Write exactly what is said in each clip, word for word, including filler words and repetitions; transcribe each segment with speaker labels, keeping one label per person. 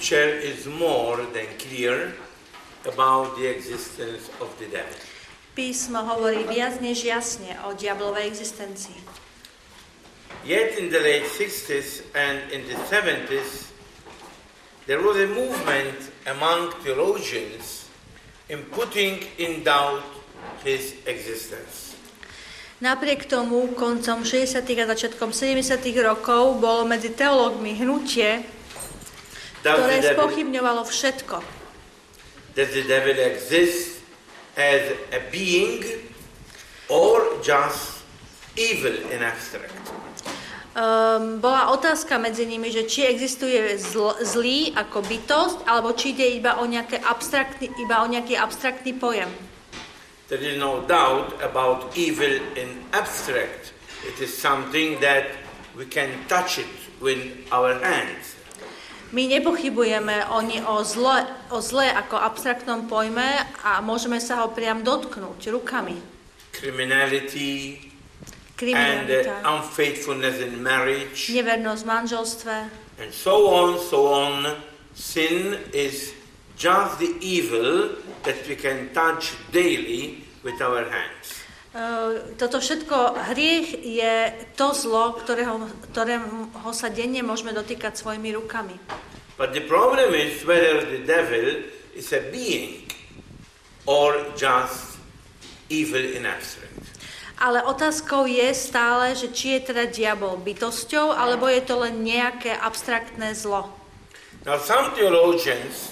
Speaker 1: Scripture is more than clear about the existence of the devil.
Speaker 2: Písmo hovorí viac než jasne o diablovej existencii.
Speaker 1: Yet in the late sixties and in the seventies, there was a movement among theologians in putting in doubt his existence.
Speaker 2: Napriek tomu, koncom šesťdesiatych a začiatkom sedemdesiatych rokov bolo medzi teológmi hnutie, ktoré spochybňovalo všetko.
Speaker 1: Does the devil exist as a being or just evil in abstract?
Speaker 2: Um, bola otázka medzi nimi, že či existuje zl- zlý ako bytosť, alebo či ide iba o, nejaké abstraktný, iba o nejaký abstraktný pojem.
Speaker 1: There is no doubt about evil in abstract. It is something that we can touch it with our hands.
Speaker 2: My nepochybujeme o, ne, o, zle, o zle ako abstraktnom pojme a môžeme sa ho priam dotknúť rukami.
Speaker 1: Criminality and
Speaker 2: Kriminalita,
Speaker 1: uh, unfaithfulness in marriage,
Speaker 2: nevernosť v manželstve
Speaker 1: and so on, so on. Sin is just the evil that we can touch daily with our hands.
Speaker 2: Uh, toto všetko, hriech je to zlo, ktorého, ktorého sa denne môžeme dotýkať svojimi rukami.
Speaker 1: But the problem is whether the devil is a being or just evil in abstract.
Speaker 2: Ale otázkou je stále, že či je teda diabol bytosťou, alebo je to len nejaké abstraktné zlo.
Speaker 1: Now some theologians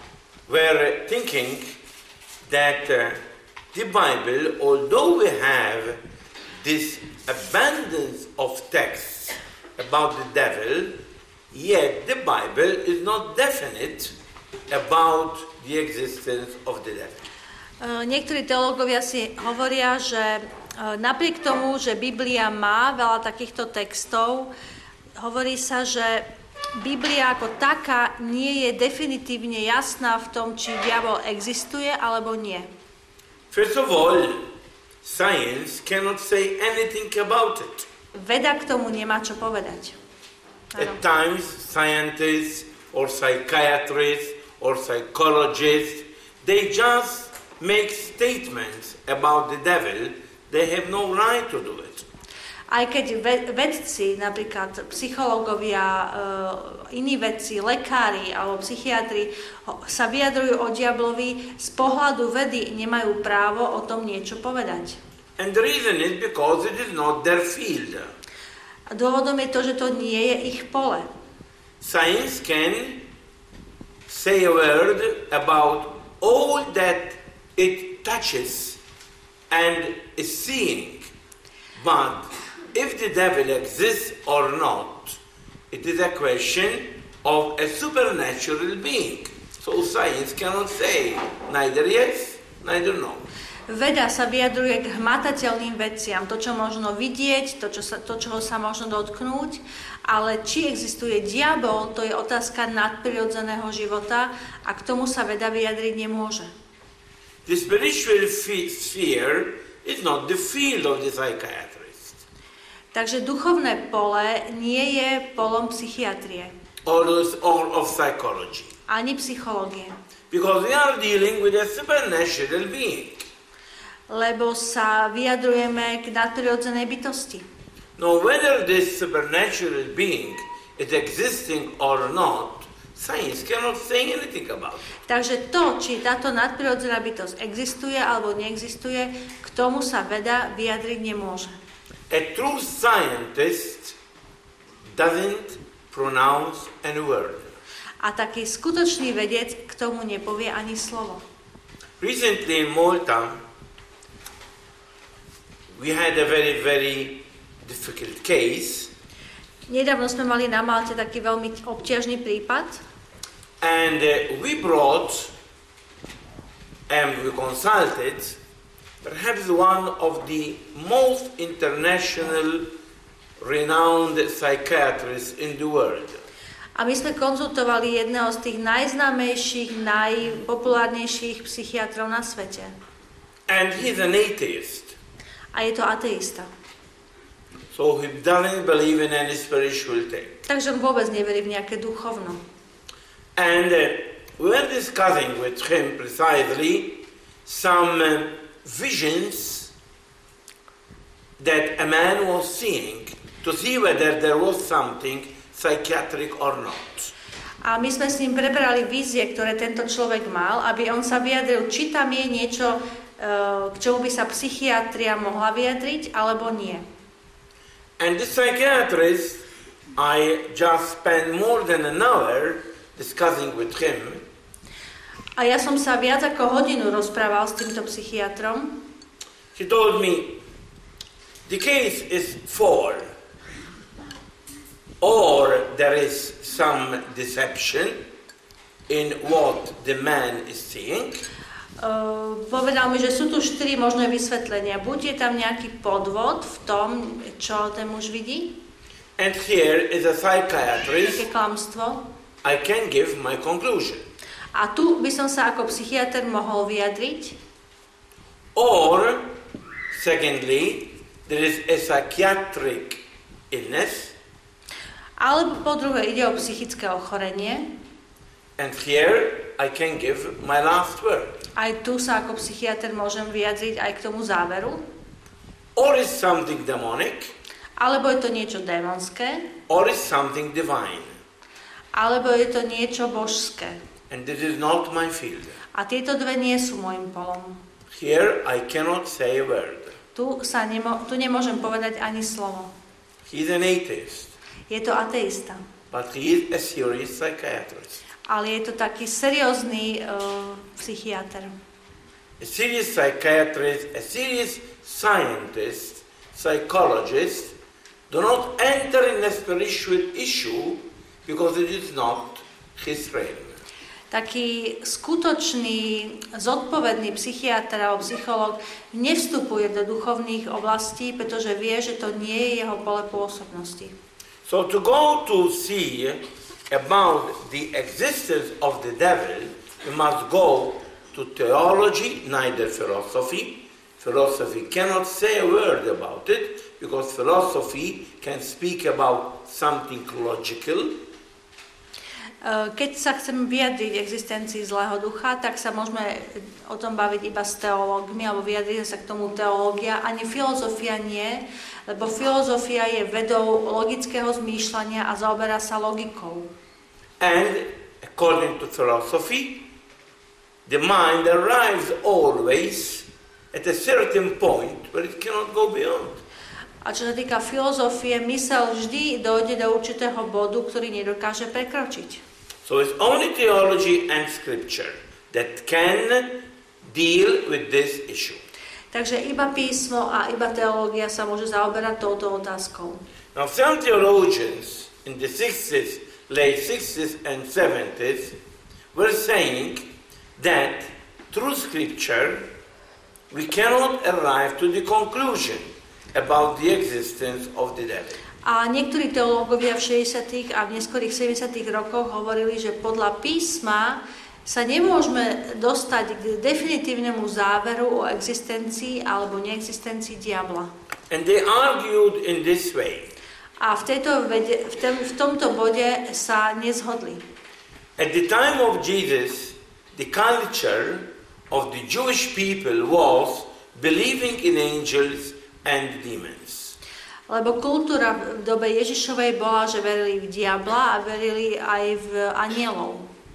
Speaker 1: were thinking that uh, the Bible, although we have this abundance of texts about the devil, yet the Bible is not definite about the existence of the devil.
Speaker 2: Uh, niektorí teológovia si hovoria, že uh, napriek tomu, že Biblia má veľa takýchto textov, hovorí sa, že Biblia ako taká nie je definitívne jasná v tom, či diabol existuje alebo nie.
Speaker 1: First of all, science cannot say anything about it.
Speaker 2: Veda k tomu nemá čo povedať.
Speaker 1: At times, scientists or psychiatrists or psychologists, they just make statements about the devil. They have no right to do it.
Speaker 2: Aj keď vedci, napríklad psychológovia, iní vedci, lekári alebo psychiatri sa vyjadrujú o diablovi, z pohľadu vedy nemajú právo o tom niečo povedať.
Speaker 1: And the reason is because it is not their field.
Speaker 2: A dôvodom je to, že to nie je ich pole.
Speaker 1: Science can say a word about all that it touches and is seeing, but if the devil exists or not, it is a question of a supernatural being. So science cannot say neither yes, neither no.
Speaker 2: Veda sa vyjadruje k hmatateľným veciam, to, čo možno vidieť, to, čo sa, to, čoho sa možno dotknúť, ale či existuje diabol, to je otázka nadprirodzeného života a k tomu sa veda vyjadriť nemôže.
Speaker 1: The spiritual sphere is not the field of the psychiatrist.
Speaker 2: Takže duchovné pole nie je polom psychiatrie.
Speaker 1: Or, or of psychology.
Speaker 2: Ani psychológie.
Speaker 1: Because we are dealing with a supernatural being.
Speaker 2: Lebo sa vyjadrujeme k nadprirodzenej bytosti.
Speaker 1: Now, whether this supernatural being is existing or not, science cannot say anything about it.
Speaker 2: Takže to, či táto nadprirodzená bytosť existuje alebo neexistuje, k tomu sa veda vyjadriť nemôže.
Speaker 1: A true scientist doesn't pronounce any word.
Speaker 2: A taký skutočný vedec k tomu nepovie ani slovo.
Speaker 1: Recently in Malta, we had a very, very difficult case.
Speaker 2: Nedávno sme mali na Malte taký veľmi obťažný prípad.
Speaker 1: And uh, we brought and we consulted perhaps one of the most international renowned psychiatrists in the world.
Speaker 2: A my sme konzultovali jedného z tých najznámejších, najpopulárnejších psychiatrov na svete.
Speaker 1: And he's an atheist.
Speaker 2: A je to ateista.
Speaker 1: So he doesn't believe in any spiritual thing.
Speaker 2: Takže on vôbec neverí v nejaké duchovno.
Speaker 1: And uh, we were discussing with him precisely some uh, visions that a man was seeing to see whether there was something psychiatric or not.
Speaker 2: A my sme s ním prebrali vízie, ktoré tento človek mal, aby on sa vyjadril, či tam je niečo, k čomu by sa psychiatria mohla vyjadriť, alebo nie.
Speaker 1: And the psychiatrist, I just spent more than an hour discussing with him.
Speaker 2: A ja som sa viac ako hodinu rozprával s týmto psychiatrom.
Speaker 1: He told me, the case is four. Or there is some deception in what the man is seeing.
Speaker 2: Uh, povedal mi, že sú tu štyri možné vysvetlenia. Buď je tam nejaký podvod v tom, čo ten muž vidí.
Speaker 1: And here is a psychiatrist.
Speaker 2: Také klamstvo.
Speaker 1: I can give my conclusion.
Speaker 2: A tu by som sa ako psychiatr mohol vyjadriť.
Speaker 1: Or, secondly, there is a psychiatric illness.
Speaker 2: Alebo po druhé ide o psychické ochorenie.
Speaker 1: And here I can give my last word.
Speaker 2: Aj tu sa ako psychiatr môžem vyjadriť aj k tomu záveru.
Speaker 1: Or is something demonic.
Speaker 2: Alebo je to niečo démonské.
Speaker 1: Or is something divine.
Speaker 2: Alebo je to niečo božské.
Speaker 1: And this is not my field.
Speaker 2: A tieto dve nie sú môjim polom.
Speaker 1: Here I cannot say a word.
Speaker 2: Tu, sa nemo- tu nemôžem povedať ani slovo.
Speaker 1: He is an atheist.
Speaker 2: Je to ateista.
Speaker 1: But he is a serious psychiatrist.
Speaker 2: Ale je to taký seriózny uh, psychiatr.
Speaker 1: A serious psychiatrist, a serious scientist, psychologist, do not enter in a spiritual issue because it is not his realm.
Speaker 2: Taký skutočný, zodpovedný psychiatr alebo psychológ nevstupuje do duchovných oblastí, pretože vie, že to nie je jeho pole pôsobnosti.
Speaker 1: So to go to see about the existence of the devil, we must go to theology, neither philosophy. Philosophy cannot say a word about it, because philosophy can speak about something logical.
Speaker 2: Keď sa chceme vyjadriť existencii zlého ducha, tak sa môžeme o tom baviť iba s teológmi, alebo vyjadriť sa k tomu teológia, ani filozofia nie, lebo filozofia je vedou logického zmýšľania a zaoberá sa logikou.
Speaker 1: And according to philosophy, the mind arrives always at a certain point where it cannot go beyond.
Speaker 2: A čo sa týka filozofie, mysel vždy dojde do určitého bodu, ktorý nedokáže prekročiť.
Speaker 1: So it's only theology and scripture that can deal with this issue.
Speaker 2: Takže iba písmo a iba teológia sa môže zaoberať touto otázkou.
Speaker 1: Now some theologians in the sixties, late sixties and seventies were saying that through scripture we cannot arrive to the conclusion about the existence of the devil.
Speaker 2: A niektorí teológovia v šesťdesiatych a v neskorých sedemdesiatych rokoch hovorili, že podľa písma sa nemôžeme dostať k definitívnemu záveru o existencii alebo neexistencii diabla.
Speaker 1: And they argued in this way.
Speaker 2: A v, tejto vede, v, tem, v tomto bode sa nezhodli.
Speaker 1: At the time of Jesus, the culture of the Jewish people was believing in angels and demons.
Speaker 2: Lebo kultúra v dobe Ježišovej bola, že verili v diabla a verili aj v anielov.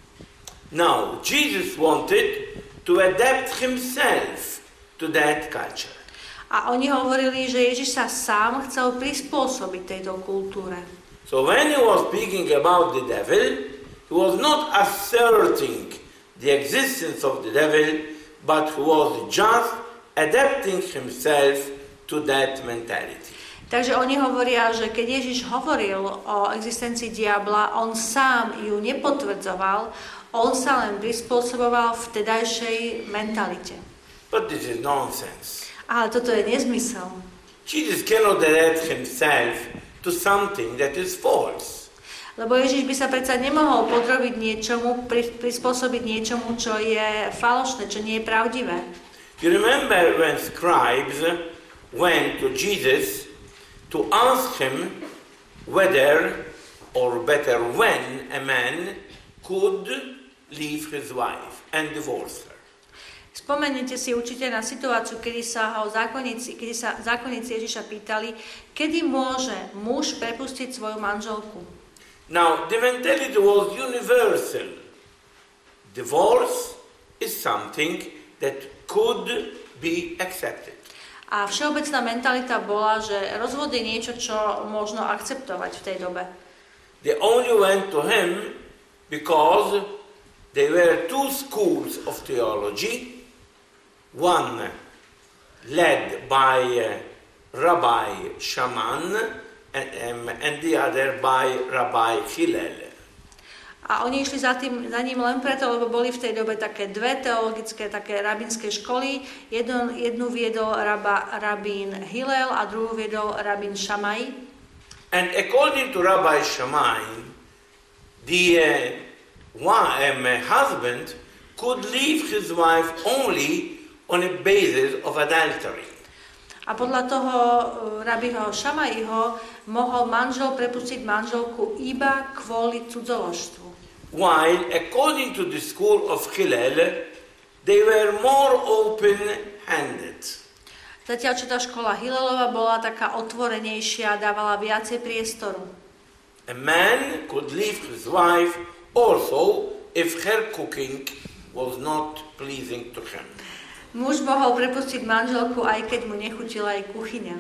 Speaker 1: Now, Jesus wanted to adapt himself to that culture.
Speaker 2: A oni hovorili, že Ježiš sa sám chcel prispôsobiť tejto kultúre.
Speaker 1: So when he was speaking about the devil, he was not asserting the existence of the devil, but he was just adapting himself to that mentality.
Speaker 2: Takže oni hovoria, že keď Ježiš hovoril o existencii diabla, on sám ju nepotvrdzoval, on sa len prispôsoboval vtedajšej mentalite.
Speaker 1: But this is nonsense.
Speaker 2: Ale toto je nezmysel.
Speaker 1: Jesus cannot adapt himself to something that is false.
Speaker 2: Lebo Ježiš by sa predsa nemohol podrobiť niečomu, prispôsobiť niečomu, čo je falošné, čo nie je pravdivé.
Speaker 1: You remember when scribes went to Jesus to ask him whether, or better when, a man could leave his wife and divorce her.
Speaker 2: Spomeniete si určite na situáciu, kedy sa ho zákonníci, kedy sa zákonníci Ježiša pýtali, kedy môže muž prepustiť svoju manželku.
Speaker 1: Now, the mentality was universal. Divorce is something that could be accepted.
Speaker 2: A všeobecná mentalita bola, že rozvod je niečo, čo možno akceptovať v tej dobe.
Speaker 1: They only went to him because there were two schools of theology. One led by uh, Rabbi Shaman and, um, and the other by Rabbi Hillel.
Speaker 2: A oni išli za, tým, za ním len preto, lebo boli v tej dobe také dve teologické, také rabínske školy. Jednu, jednu viedol raba, rabín Hillel a druhú viedol rabín Šamaj.
Speaker 1: And according to Rabbi Shammai, the uh, one, um, husband could leave his wife only on a basis of adultery.
Speaker 2: A podľa toho uh, rabiho Šamajho mohol manžel prepustiť manželku iba kvôli cudzoložstvu.
Speaker 1: While according to the school of Hillel, they were more open-handed.
Speaker 2: Zatiaľ, čo tá škola Hillelova bola taká otvorenejšia, dávala viacej priestoru.
Speaker 1: A man could leave his wife also if her cooking was not pleasing to him.
Speaker 2: Muž mohol prepustiť manželku, aj keď mu nechutila jej kuchyňa.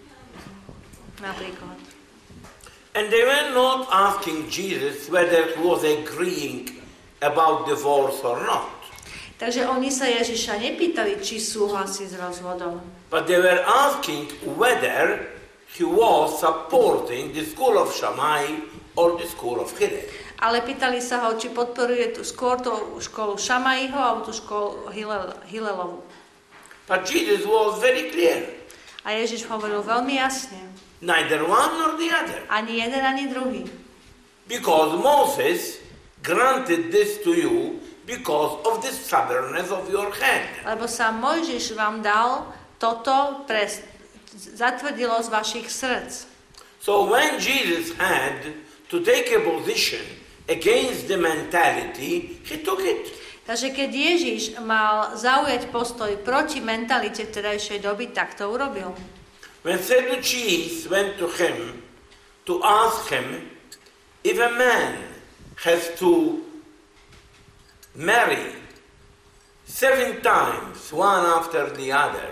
Speaker 2: Napríklad.
Speaker 1: And they were not asking Jesus whether he was agreeing about divorce or not.
Speaker 2: Takže oni sa Ježiša nepýtali, či súhlasí s rozvodom.
Speaker 1: But they were asking whether he was supporting the school of Shammai or the school of Hillel.
Speaker 2: Ale pýtali sa ho, či podporuje tú, skôr tú školu Šamajho alebo tú školu Hillel, Hillelovu.
Speaker 1: But Jesus was very clear.
Speaker 2: A Ježiš hovoril veľmi jasne.
Speaker 1: Neither one nor the other.
Speaker 2: Ani jeden, ani druhý.
Speaker 1: Because Moses granted this to you because of the stubbornness of your hand.
Speaker 2: Lebo sa Mojžiš vám dal toto pre zatvrdilo z vašich srdc.
Speaker 1: So when Jesus had to take a position against the mentality, he took it.
Speaker 2: Takže keď Ježiš mal zaujať postoj proti mentalite vtedajšej doby, tak to urobil.
Speaker 1: When Sadducees went to him to ask him if a man has to marry seven times, one after the other,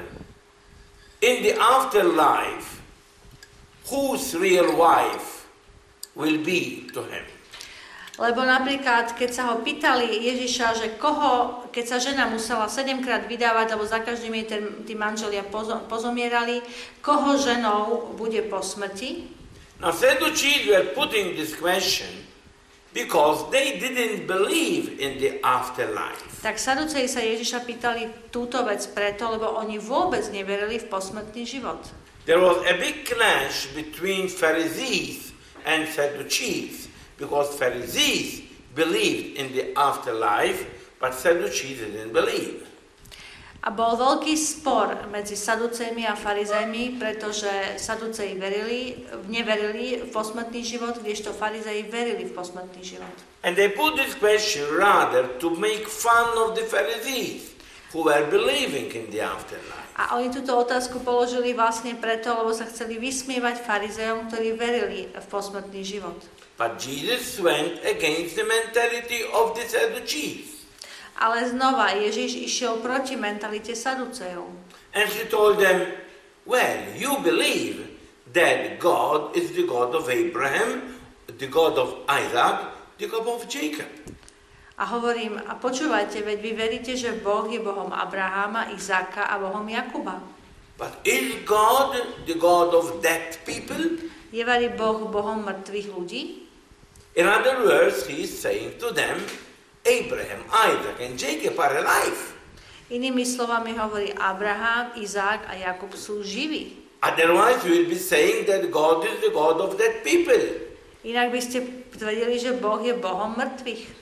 Speaker 1: in the afterlife, whose real wife will be to him?
Speaker 2: Lebo napríklad, keď sa ho pýtali Ježiša, že koho, keď sa žena musela sedemkrát vydávať, lebo za každým jej tí manželia pozomierali, koho ženou bude po smrti?
Speaker 1: Now, Sadducees were putting this question because they didn't believe in the afterlife.
Speaker 2: Tak Saduceji sa Ježiša pýtali túto vec preto, lebo oni vôbec neverili v posmrtný život.
Speaker 1: There was a big clash between Pharisees and Sadducees. Because Pharisees believed in the afterlife, but Sadducees didn't believe.
Speaker 2: A bol veľký spor medzi Saducejmi a Farizejmi, pretože Saduceji verili, neverili v posmrtný život, kdežto Farizeji verili v posmrtný život.
Speaker 1: And they put this question rather to make fun of the Pharisees who were believing in the afterlife.
Speaker 2: A oni túto otázku položili vlastne preto, lebo sa chceli vysmievať Farizejom, ktorí verili v posmrtný život.
Speaker 1: But Jesus went against the mentality of the Sadducees.
Speaker 2: Ale znova Ježiš išiel proti mentalite Saducejov.
Speaker 1: And he told them, well, you believe that God is the God of Abraham, the God of Isaac, the God of Jacob.
Speaker 2: A hovorím, a počúvajte, veď vy veríte, že Boh je Bohom Abraháma, Izáka a Bohom Jakuba.
Speaker 1: But is God the God of dead people?
Speaker 2: Je vari Boh Bohom mŕtvych ľudí?
Speaker 1: In other words, he is saying to them, Abraham, Isaac and Jacob are alive.
Speaker 2: Inými slovami hovorí, Abraham, Izák a Jakub sú živí.
Speaker 1: Otherwise you will be saying that God is the God of dead people.
Speaker 2: Inak by ste tvrdili, že Boh je Bohom mŕtvych.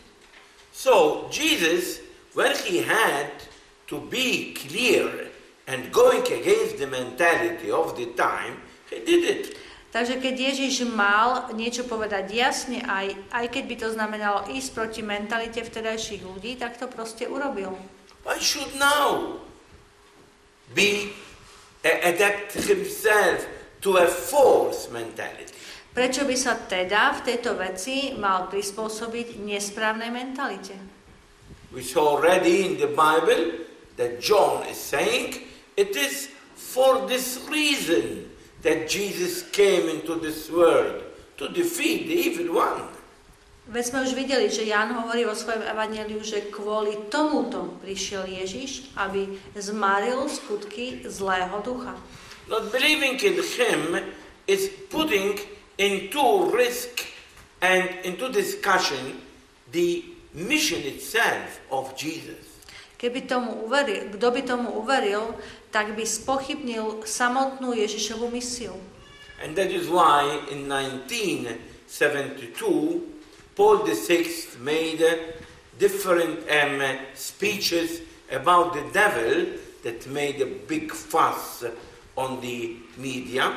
Speaker 1: So Jesus, when he had to be clear and going against the mentality of the time, he did it.
Speaker 2: Takže keď Ježiš mal niečo povedať jasne, aj, aj keď by to znamenalo ísť proti mentalite vtedajších ľudí, tak to proste urobil.
Speaker 1: Why should now be adapt himself to a false mentality?
Speaker 2: Prečo by sa teda v tejto veci mal prispôsobiť nesprávnej mentalite?
Speaker 1: We saw already in the Bible that John is saying it is for this reason that Jesus came into this world, to defeat the evil one.
Speaker 2: Veď sme už videli, že Ján hovorí vo svojom evanjeliu, že kvôli tomuto prišiel Ježiš, aby zmaril skutky zlého ducha.
Speaker 1: Not believing in him is putting into risk and into discussion the mission itself of Jesus.
Speaker 2: Keby tomu uveril, kto by tomu uveril, tak by spochybnil samotnú Ježišovu misiu.
Speaker 1: And that is why in nineteen seventy-two Paul the sixth made different um, speeches about the devil that made a big fuss on the media.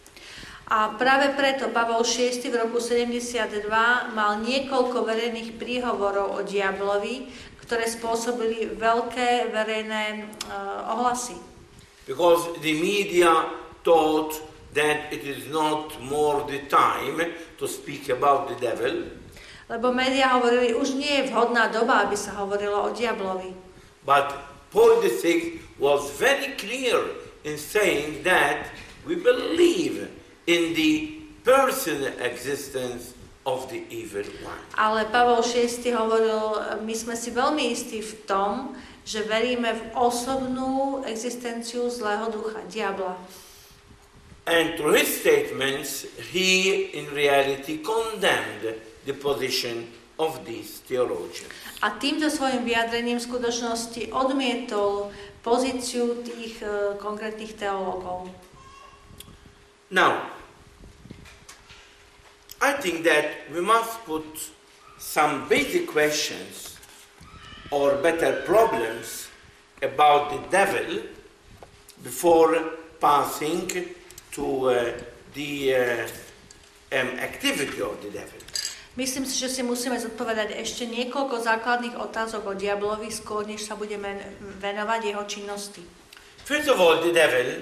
Speaker 2: A práve preto Pavol šiesty v roku sedemdesiatdva mal niekoľko verejných príhovorov o diablovi, ktoré spôsobili veľké verejné uh, ohlasy.
Speaker 1: Because the media thought that it is not more the time to speak about the devil.
Speaker 2: Lebo médiá hovorili, už nie je vhodná doba, aby sa hovorilo o diablovi.
Speaker 1: But Paul the sixth was very clear in saying that we believe in the personal existence of the evil one.
Speaker 2: Ale Pavol šiesty hovoril, my sme si veľmi istí v tom, že veríme v osobnú existenciu zlého ducha, diabla.
Speaker 1: And through his statements, he in reality condemned the position of these theologians.
Speaker 2: A týmto svojim vyjadrením v skutočnosti odmietol pozíciu tých uh, konkrétnych teológov.
Speaker 1: Now, I think that we must put some basic questions or better problems about the devil before passing to uh, the uh, um, activity of the devil.
Speaker 2: Myslím si, že si musíme zodpovedať ešte niekoľko základných otázok o diablovi, skôr než sa budeme venovať jeho činnosti.
Speaker 1: First of all, the devil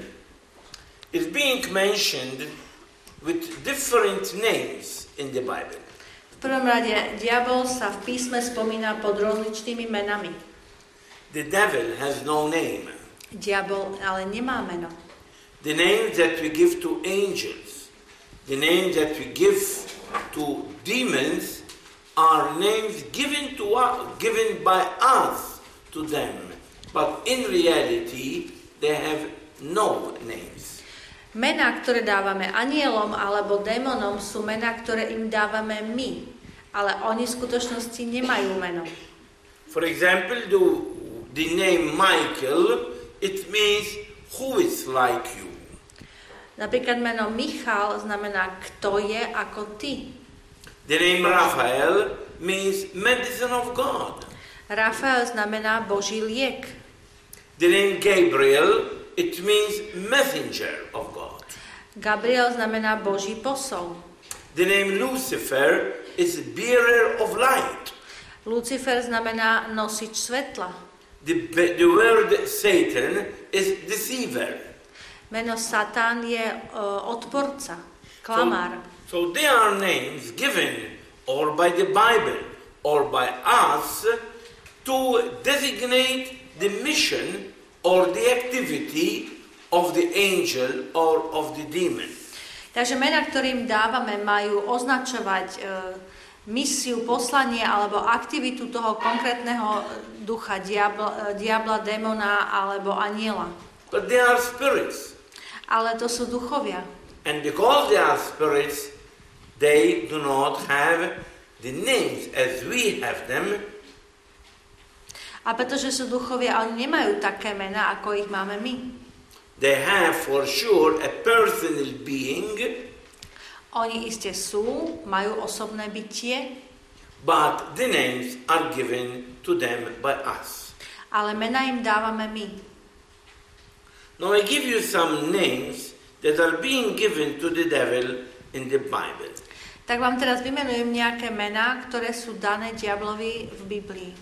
Speaker 1: is being mentioned with different names in the Bible.
Speaker 2: V prvom rade, diabol sa v písme spomína pod rozličnými menami.
Speaker 1: The devil has no name.
Speaker 2: Diabol ale nemá meno.
Speaker 1: The names that we give to angels, the names that we give to demons are names given to us, given by us to them, but in reality they have no names.
Speaker 2: Mená, ktoré dávame anielom alebo démonom, sú mená, ktoré im dávame my, ale oni v skutočnosti nemajú meno.
Speaker 1: For example, the, the name Michael, it means who is like you.
Speaker 2: Napríklad meno Michal znamená kto je ako ty.
Speaker 1: The name Raphael means medicine of God.
Speaker 2: Rafael znamená Boží liek.
Speaker 1: The name Gabriel, it means messenger of God.
Speaker 2: Gabriel znamená Boží posol.
Speaker 1: The name Lucifer is bearer of light.
Speaker 2: Lucifer znamená nosič svetla.
Speaker 1: The, the word Satan is deceiver.
Speaker 2: Meno Satan je uh, odporca, klamár.
Speaker 1: So, so they are names given or by the Bible or by us to designate the mission or the activity of the angel or of the demon.
Speaker 2: Takže mená, ktorým dávame, majú označovať uh, misiu, poslanie alebo aktivitu toho konkrétneho ducha, diabla, diabla, démona alebo aniela.
Speaker 1: But they are spirits.
Speaker 2: Ale to sú duchovia.
Speaker 1: And because they are spirits, they do not have the names as we have them.
Speaker 2: A pretože sú duchovia, oni nemajú také mená, ako ich máme my.
Speaker 1: They have for sure a personal being.
Speaker 2: Oni iste sú, majú osobné bytie,
Speaker 1: but the names are given to them by us.
Speaker 2: Ale mená im dávame my.
Speaker 1: Now I give you some names that are being given to the devil in the Bible.
Speaker 2: Tak vám teraz vymenujem nejaké mená, ktoré sú dané diablovi v Biblii.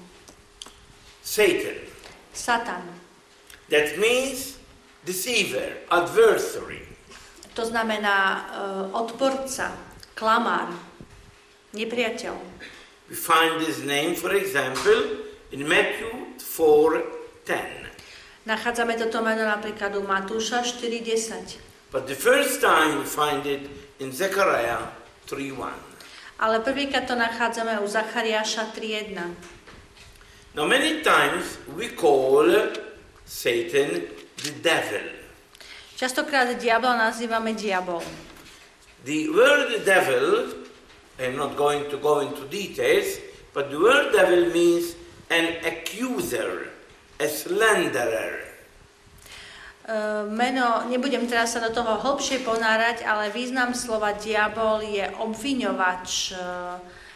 Speaker 1: Satan.
Speaker 2: Satan.
Speaker 1: That means deceiver, adversary.
Speaker 2: To znamená uh, odporca, klamár, nepriateľ.
Speaker 1: We find this name, for example, in Matthew four ten.
Speaker 2: Nachádzame toto meno napríklad u Matúša štyri desať.
Speaker 1: But the first time we find it in Zechariah three one.
Speaker 2: Ale prvýkrát to nachádzame u Zachariáša tri jedna.
Speaker 1: Now many times we call Satan the devil.
Speaker 2: Častokrát diabla nazývame diabol.
Speaker 1: The word devil, I'm not going to go into details, but the word devil means an accuser, a slanderer.
Speaker 2: Uh, meno, nebudem teraz sa do toho hlbšie ponárať, ale význam slova diabol je obviňovač, uh,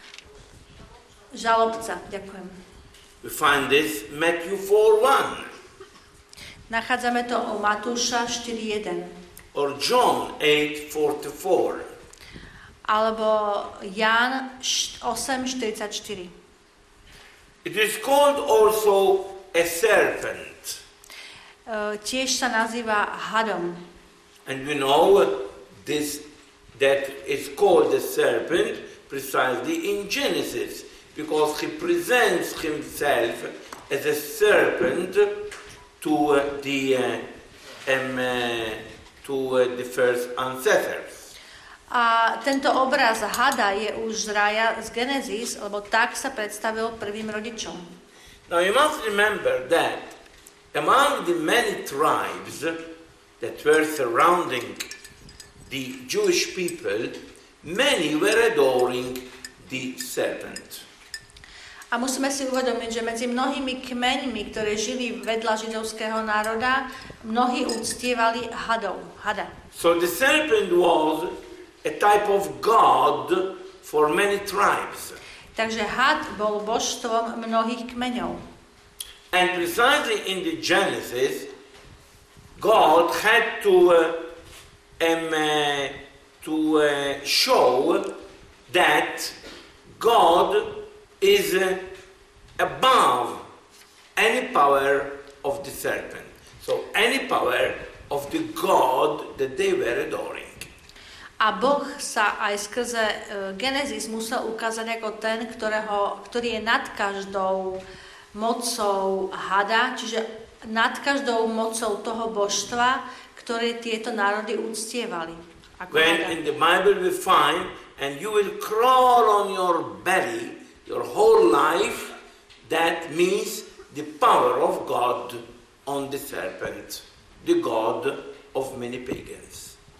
Speaker 2: žalobca. Ďakujem.
Speaker 1: We find this Matthew four one.
Speaker 2: Nachádzame to u Matúša štyri jeden.
Speaker 1: Or John eight forty-four.
Speaker 2: Alebo Ján osem štyridsaťštyri.
Speaker 1: It is called also a serpent.
Speaker 2: Uh, tiež sa nazýva hadom.
Speaker 1: And we know this, that is called the serpent precisely in Genesis, because he presents himself as a serpent to uh, the uh, um, uh, to uh, the first ancestors.
Speaker 2: A tento obraz hada je už z raja z Genesis, lebo tak sa predstavil prvým rodičom.
Speaker 1: Now you must remember that among the many tribes that were surrounding the Jewish people, many were adoring the serpent.
Speaker 2: A musíme si uvedomiť, že medzi mnohými kmeňmi, ktoré žili vedľa židovského národa, mnohí uctievali hadov, hada.
Speaker 1: So the serpent was a type of god for many tribes.
Speaker 2: Takže had bol božstvom mnohých kmeňov.
Speaker 1: And precisely in the Genesis, God had to uh, um, uh, to uh, show that God is uh, above any power of the serpent. So any power of the God that they were adoring.
Speaker 2: A Boh sa aj skrze uh, Genesis musel ukázať ako ten, ktorého, ktorý je nad každou mocou hada, čiže nad každou mocou toho božstva, ktoré tieto národy uctievali. Ako
Speaker 1: When
Speaker 2: hada.
Speaker 1: in the Bible we find, and you will crawl on your belly your whole life, that means the power of God on the serpent, the God of many pagans.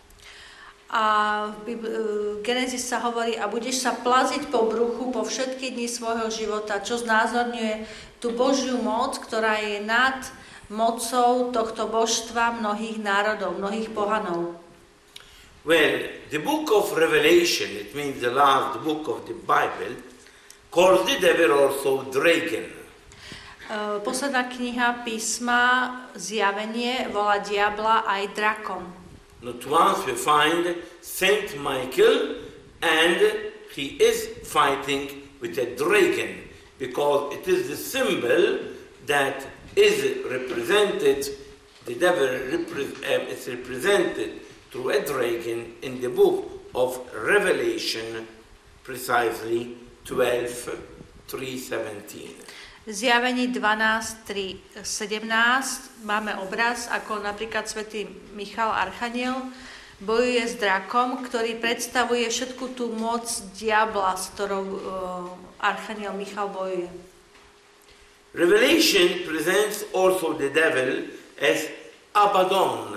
Speaker 2: A v Genesis sa hovorí, a budeš sa plaziť po bruchu po všetky dni svojho života, čo znázorňuje tú Božiu moc, ktorá je nad mocou tohto božstva mnohých národov, mnohých pohanov.
Speaker 1: Well, the book of Revelation, it means the last book of the Bible, calls the devil also dragon.
Speaker 2: Uh, posledná kniha písma Zjavenie volá diabla aj drakom.
Speaker 1: Not once we find Saint Michael, and he is fighting with a dragon, because it is the symbol that is represented, the devil repre- uh, is represented through a dragon in the book of Revelation, precisely twelve three seventeen.
Speaker 2: Zjavení dvanásť tri sedemnásť máme obraz, ako napríklad svätý Michal Archaniel bojuje s drakom, ktorý predstavuje všetku tú moc diabla, s ktorou uh, Archaniel Michal bojuje.
Speaker 1: Revelation presents also the devil as Abaddon.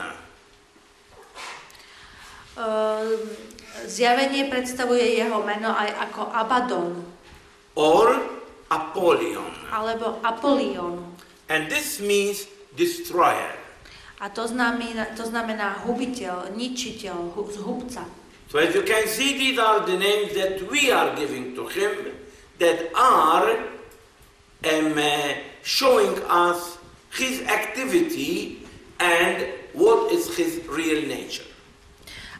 Speaker 2: Uh, zjavenie predstavuje jeho meno aj ako Abaddon.
Speaker 1: Or Apollyon.
Speaker 2: Alebo Apollyon.
Speaker 1: And this means destroyer.
Speaker 2: A to znamená, to znamená hubiteľ, ničiteľ, zhubca.
Speaker 1: So as you can see, these are the names that we are giving to him, that are um, uh, showing us his activity and what is his real nature.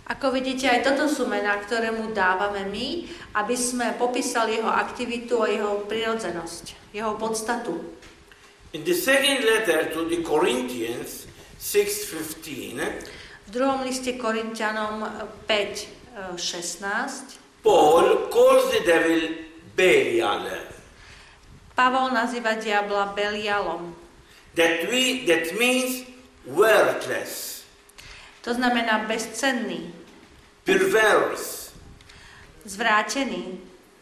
Speaker 2: Ako vidíte, aj toto sú mená, ktoré mu dávame my, aby sme popísali jeho aktivitu a jeho prirodzenosť, jeho podstatu.
Speaker 1: In the second letter to the Corinthians six fifteen,
Speaker 2: v druhom liste Korinťanom päť šestnásť,
Speaker 1: Paul calls the devil Belial.
Speaker 2: Pavol nazýva diabla Belialom.
Speaker 1: That we that means worthless,
Speaker 2: To znamená bezcenný,
Speaker 1: perverse,
Speaker 2: zvrátený.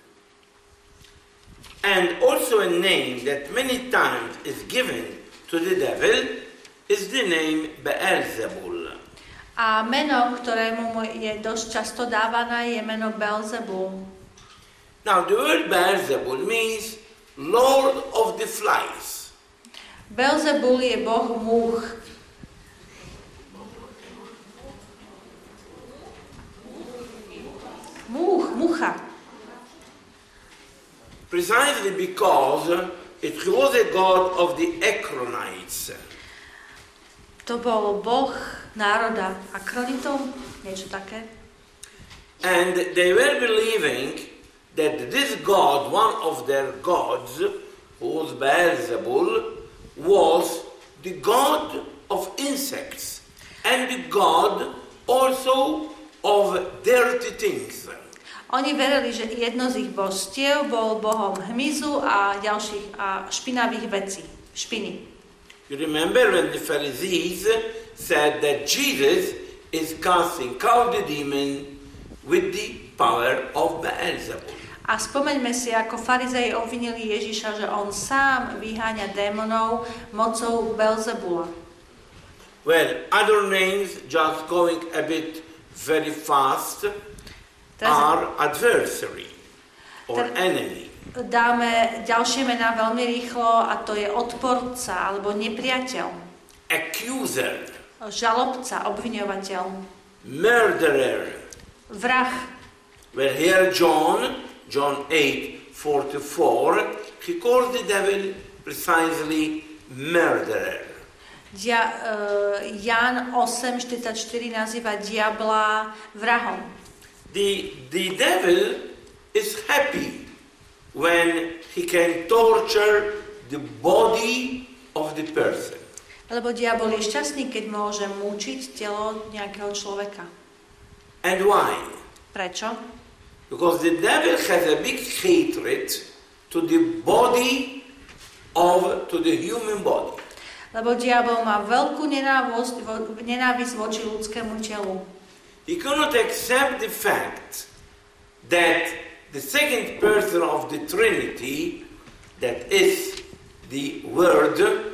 Speaker 1: and also a name that many times is given to the devil is the name Beelzebul.
Speaker 2: A meno, ktorému mu je dosť často dávané, je meno Belzebul.
Speaker 1: Now the word Beelzebul means Lord of the Flies.
Speaker 2: Belzebul je boh múch. Múch, mucha.
Speaker 1: Precisely because it was a god of the Acronites.
Speaker 2: To bol boh národa Akronitov, niečo také.
Speaker 1: And they were believing that this god, one of their gods, who was Beelzebul, was the god of insects and the god also of dirty things.
Speaker 2: Oni verili, že jedno z ich božstiev bol bohom hmyzu a ďalších a špinavých vecí, špiny.
Speaker 1: You remember when the Pharisees said that Jesus is casting out the demon with the power of Beelzebul.
Speaker 2: A spomeňme si, ako farizei obvinili Ježiša, že on sám vyháňa démonov mocou Belzebula.
Speaker 1: Well, other names, just going a bit very fast, are adversary or enemy.
Speaker 2: Dáme ďalšie mená veľmi rýchlo a to je odporca alebo nepriateľ.
Speaker 1: Accuser.
Speaker 2: Žalobca, obviňovateľ.
Speaker 1: Murderer.
Speaker 2: Vrah.
Speaker 1: Well, here John, John eight forty-four, he calls the devil precisely murderer.
Speaker 2: Dia, uh, Ján osem štyridsaťštyri nazýva diabla vrahom.
Speaker 1: The, the devil is happy when he can torture the body of the person.
Speaker 2: Lebo diabol je šťastný, keď môže mučiť telo nejakého človeka.
Speaker 1: And why?
Speaker 2: Prečo?
Speaker 1: Because the devil has a big hatred to the body of, to the human body.
Speaker 2: Lebo diabol má veľkú nenávisť, nenávisť voči ľudskému telu.
Speaker 1: He cannot accept the fact that the second person of the Trinity, that is the Word,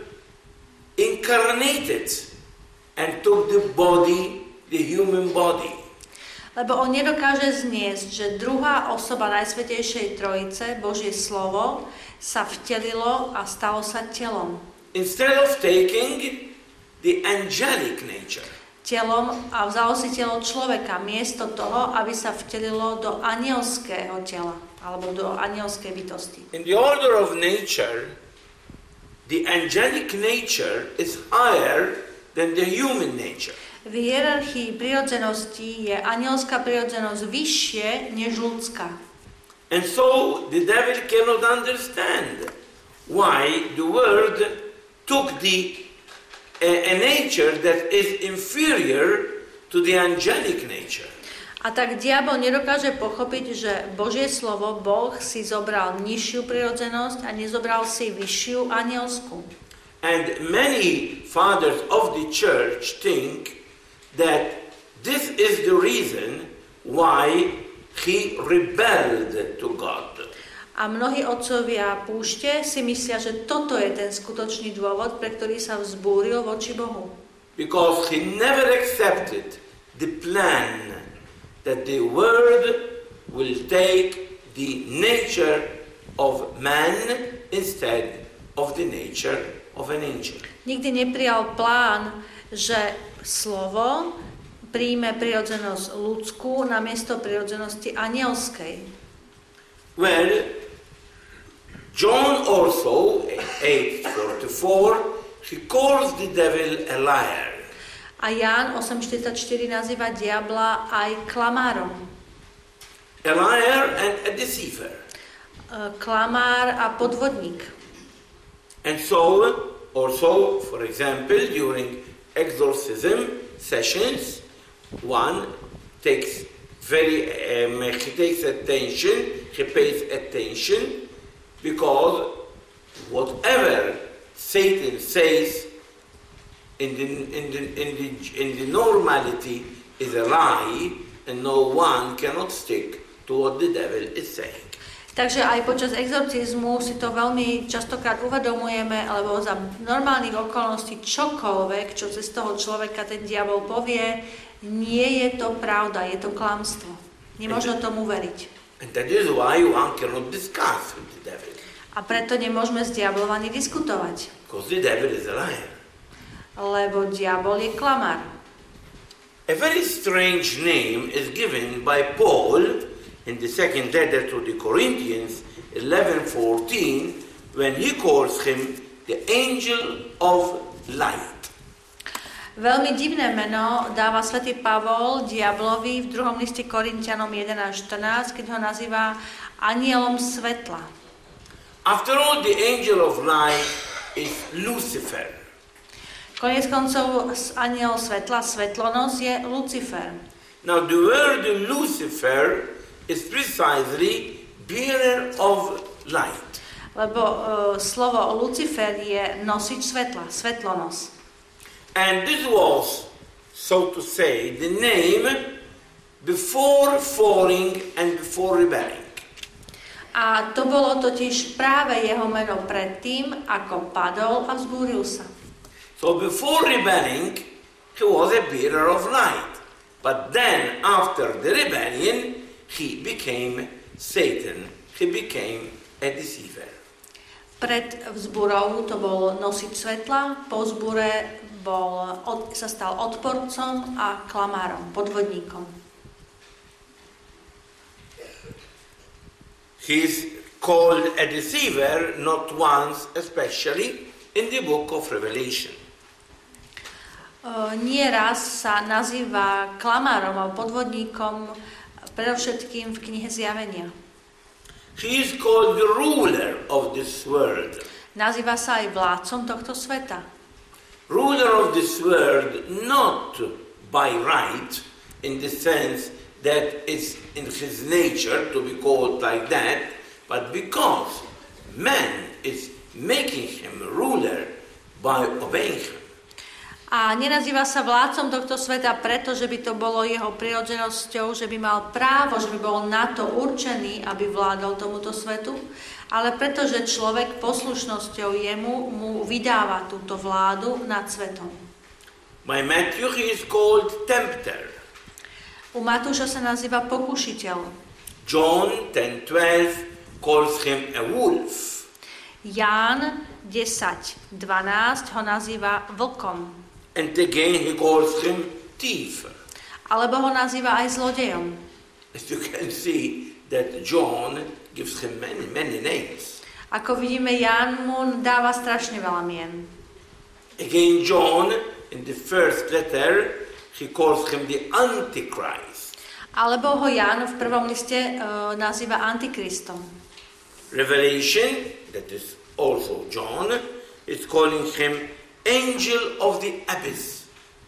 Speaker 1: incarnated and took the body, the human body.
Speaker 2: Lebo on nedokáže zniesť, že druhá osoba Najsvätejšej Trojice, Božie slovo, sa vtelilo a stalo sa telom.
Speaker 1: Instead of taking the angelic nature.
Speaker 2: Telom a vzalo si telo človeka miesto toho, aby sa vtelilo do anielského tela alebo do anielskej bytosti.
Speaker 1: In the order of nature, the angelic nature is higher than the human nature.
Speaker 2: V hierarchii prirodzenosti je anielská prirodzenosť vyššie než ľudská.
Speaker 1: And so the devil cannot understand why the Word took the a, a nature that is inferior to the angelic nature.
Speaker 2: A tak diabol nedokáže pochopiť, že Božie slovo, Boh si zobral nižšiu prirodzenosť a nezobral si vyššiu anielsku.
Speaker 1: And many fathers of the church think that this is the reason why he rebelled to God.
Speaker 2: A mnohí otcovia púšte si myslia, že toto je ten skutočný dôvod, pre ktorý sa vzbúril voči Bohu.
Speaker 1: Because he never accepted the plan that the Word will take the nature of man instead of the nature of an angel.
Speaker 2: Nikdy neprijal plán, že slovo príjme prirodzenosť ľudskú namiesto prirodzenosti anielskej.
Speaker 1: Well, John also, eight forty-four, he calls the devil a liar.
Speaker 2: A Ján osem štyridsaťštyri nazýva diabla aj klamárom.
Speaker 1: A liar and a deceiver.
Speaker 2: Klamár a podvodník.
Speaker 1: And so, also, for example, during exorcism sessions, one takes very, um, he takes attention, he pays attention, because whatever Satan says in the, in the, in the, in the normality is a lie, and no one cannot stick to what the devil is saying.
Speaker 2: Takže aj počas exorcizmu si to veľmi častokrát uvedomujeme, alebo za normálnych okolností čokoľvek, čo cez toho človeka ten diabol povie, nie je to pravda, je to klamstvo. Nemôžno tomu veriť.
Speaker 1: And that is why one cannot discuss with the devil.
Speaker 2: A preto nemôžeme s diablom ani diskutovať.
Speaker 1: Because the devil is a liar.
Speaker 2: Lebo diabol je klamár.
Speaker 1: A very strange name is given by Paul in the second letter to the Corinthians, eleven fourteen, when he calls him the angel of light.
Speaker 2: Veľmi divné meno dáva svätý Pavol diablovi v druhom liste Korintianom jedenásť štrnásť, keď ho nazýva anielom svetla.
Speaker 1: After all, the angel of light is Lucifer.
Speaker 2: Koniec koncov aniel svetla, svetlonos je Lucifer.
Speaker 1: Now the word Lucifer is precisely bearer of light.
Speaker 2: Lebo uh, slovo Lucifer je nosič svetla, svetlonos.
Speaker 1: And this was, so to say, the name before falling and before rebelling.
Speaker 2: A to bolo totiž práve jeho meno predtým, ako padol a vzbúril sa.
Speaker 1: So before rebelling, he was a bearer of light. But then, after the rebellion, he became Satan. He became a deceiver.
Speaker 2: Pred vzburou to bol nosič svetla, po vzbure bol, od, sa stal odporcom a klamárom, podvodníkom.
Speaker 1: He is called a deceiver not once, especially in the book of Revelation.
Speaker 2: Uh, nie raz sa nazýva klamárom a podvodníkom, predovšetkým v knihe Zjavenia.
Speaker 1: He is called the ruler of this world.
Speaker 2: Nazýva sa aj vládcom tohto sveta.
Speaker 1: Ruler of this world not by right, in the sense that it's in his nature to be called like that, but because man is making him a ruler by obeying him.
Speaker 2: A nenazýva sa vládcom tohto sveta preto, že by to bolo jeho prirodzenosťou, že by mal právo, že by bol na to určený, aby vládol tomuto svetu, ale preto, že človek poslušnosťou jemu mu vydáva túto vládu nad svetom.
Speaker 1: By Matthew he is called tempter.
Speaker 2: U Matúša sa nazýva pokušiteľ.
Speaker 1: John ten twelve calls him a wolf.
Speaker 2: Ján desať dvanásť ho nazýva vlkom.
Speaker 1: And again he calls him thief.
Speaker 2: Alebo ho nazýva aj zlodejom.
Speaker 1: As you can see that John gives him many, many names.
Speaker 2: Ako vidíme, Ján mu dáva strašne veľa mien.
Speaker 1: Again John in the first letter he calls him the Antichrist.
Speaker 2: Alebo ho Ján v prvom liste uh, nazýva Antikristom.
Speaker 1: Revelation, that is also John, is calling him angel of the abyss.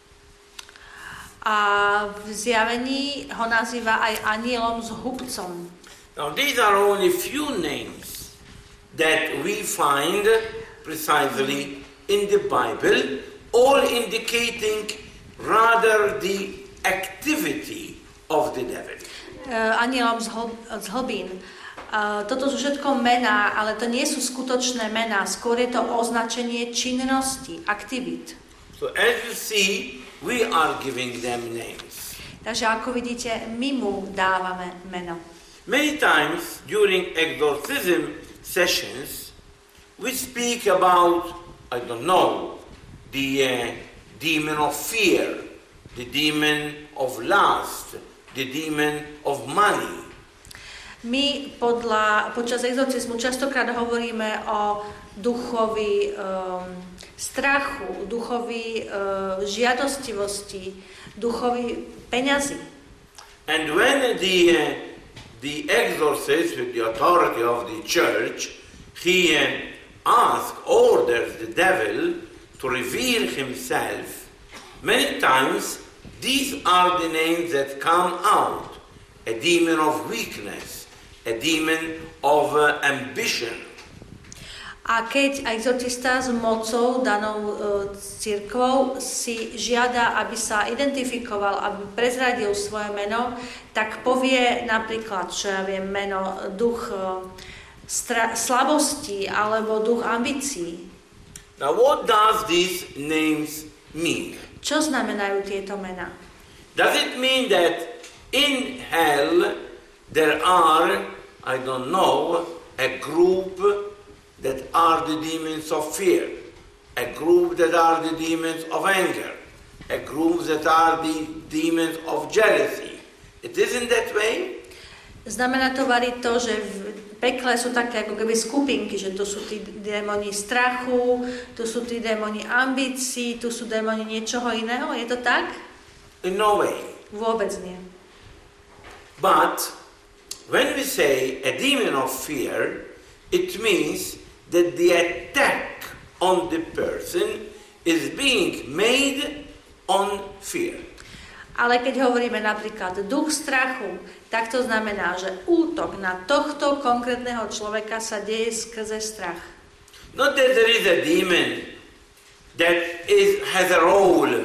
Speaker 2: A v Zjavení ho nazýva aj anielom s hubcom.
Speaker 1: Now these are only few names that we find precisely in the Bible, all indicating rather the activity of the devil.
Speaker 2: Uh, anielom z, hl- z hlbín. Uh, toto sú všetko mená, ale to nie sú skutočné mená, skôr je to označenie činnosti, aktivít.
Speaker 1: So as you see, we are giving them names.
Speaker 2: Takže ako vidíte, my mu dávame meno.
Speaker 1: Many times during exorcism sessions, we speak about, I don't know, the uh, demon of fear, the demon of lust, the demon of money.
Speaker 2: My podľa, počas exorcizmu častokrát hovoríme o duchovi um, strachu, duchovi uh, žiadostivosti, duchovi peňazí.
Speaker 1: And when the uh, the exorcist with the authority of the church, he uh, asks, orders the devil to reveal himself, many times these are the names that come out. A demon of weakness, a demon of uh, ambition.
Speaker 2: A keď exorcista s mocou danou uh, cirkvou si žiada, aby sa identifikoval, aby prezradil svoje meno, tak povie napríklad, čo ja viem, meno, duch uh, stra- slabosti alebo duch ambícií.
Speaker 1: Now what does these names mean?
Speaker 2: Čo znamenajú tieto mená?
Speaker 1: Does it mean that in hell there are, I don't know, a group that are the demons of fear, a group that are the demons of anger, a group that are the demons of jealousy? It isn't that way?
Speaker 2: Znamená to, variť to, že v pekle sú také ako keby skupinky, že tu sú tí démoni strachu, tu sú tí démoni ambícií, tu sú démoni niečoho iného. Je to tak?
Speaker 1: In no way.
Speaker 2: Vôbec nie.
Speaker 1: But when we say a demon of fear, it means that the attack on the person is being made on fear.
Speaker 2: Ale keď hovoríme napríklad duch strachu, tak to znamená, že útok na tohto konkrétneho človeka sa deje skrze strach.
Speaker 1: Not that there is a demon that is, has a role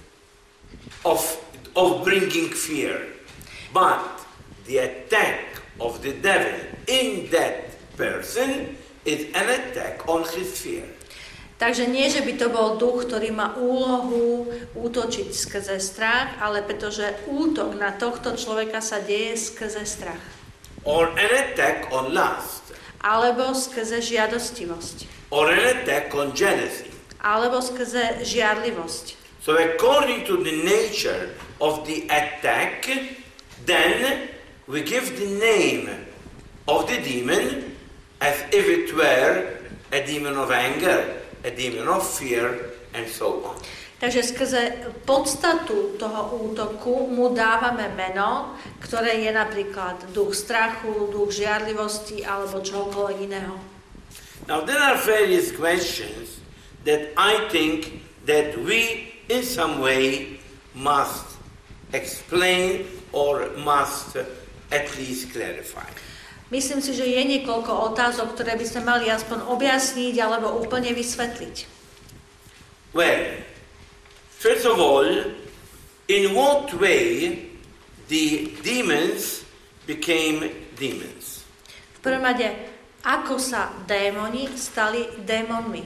Speaker 1: of, of bringing fear, but the attack of the devil in that person is an attack on his fear.
Speaker 2: Takže nie, že by to bol duch, ktorý má úlohu útočiť skrze strach, ale pretože útok na tohto človeka sa deje skrze strach.
Speaker 1: Or an attack on lust.
Speaker 2: Alebo skrze žiadostivosť.
Speaker 1: Or an attack on jealousy.
Speaker 2: Alebo skrze žiarlivosť.
Speaker 1: So according to the nature of the attack, then we give the name of the demon as if it were a demon of anger, a demon of fear, and so on.
Speaker 2: Takže skrze podstatu toho útoku mu dávame meno, ktoré je napríklad duch strachu, duch žiarlivosti alebo čokoľvek iného.
Speaker 1: Now there are various questions that I think that we in some way must explain or must at least clarify.
Speaker 2: Myslím si, že je niekoľko otázok, ktoré by sme mali aspoň objasniť alebo úplne vysvetliť.
Speaker 1: Well, first of all, in what way the demons became demons?
Speaker 2: V prvom rade, ako sa démoni stali démonmi?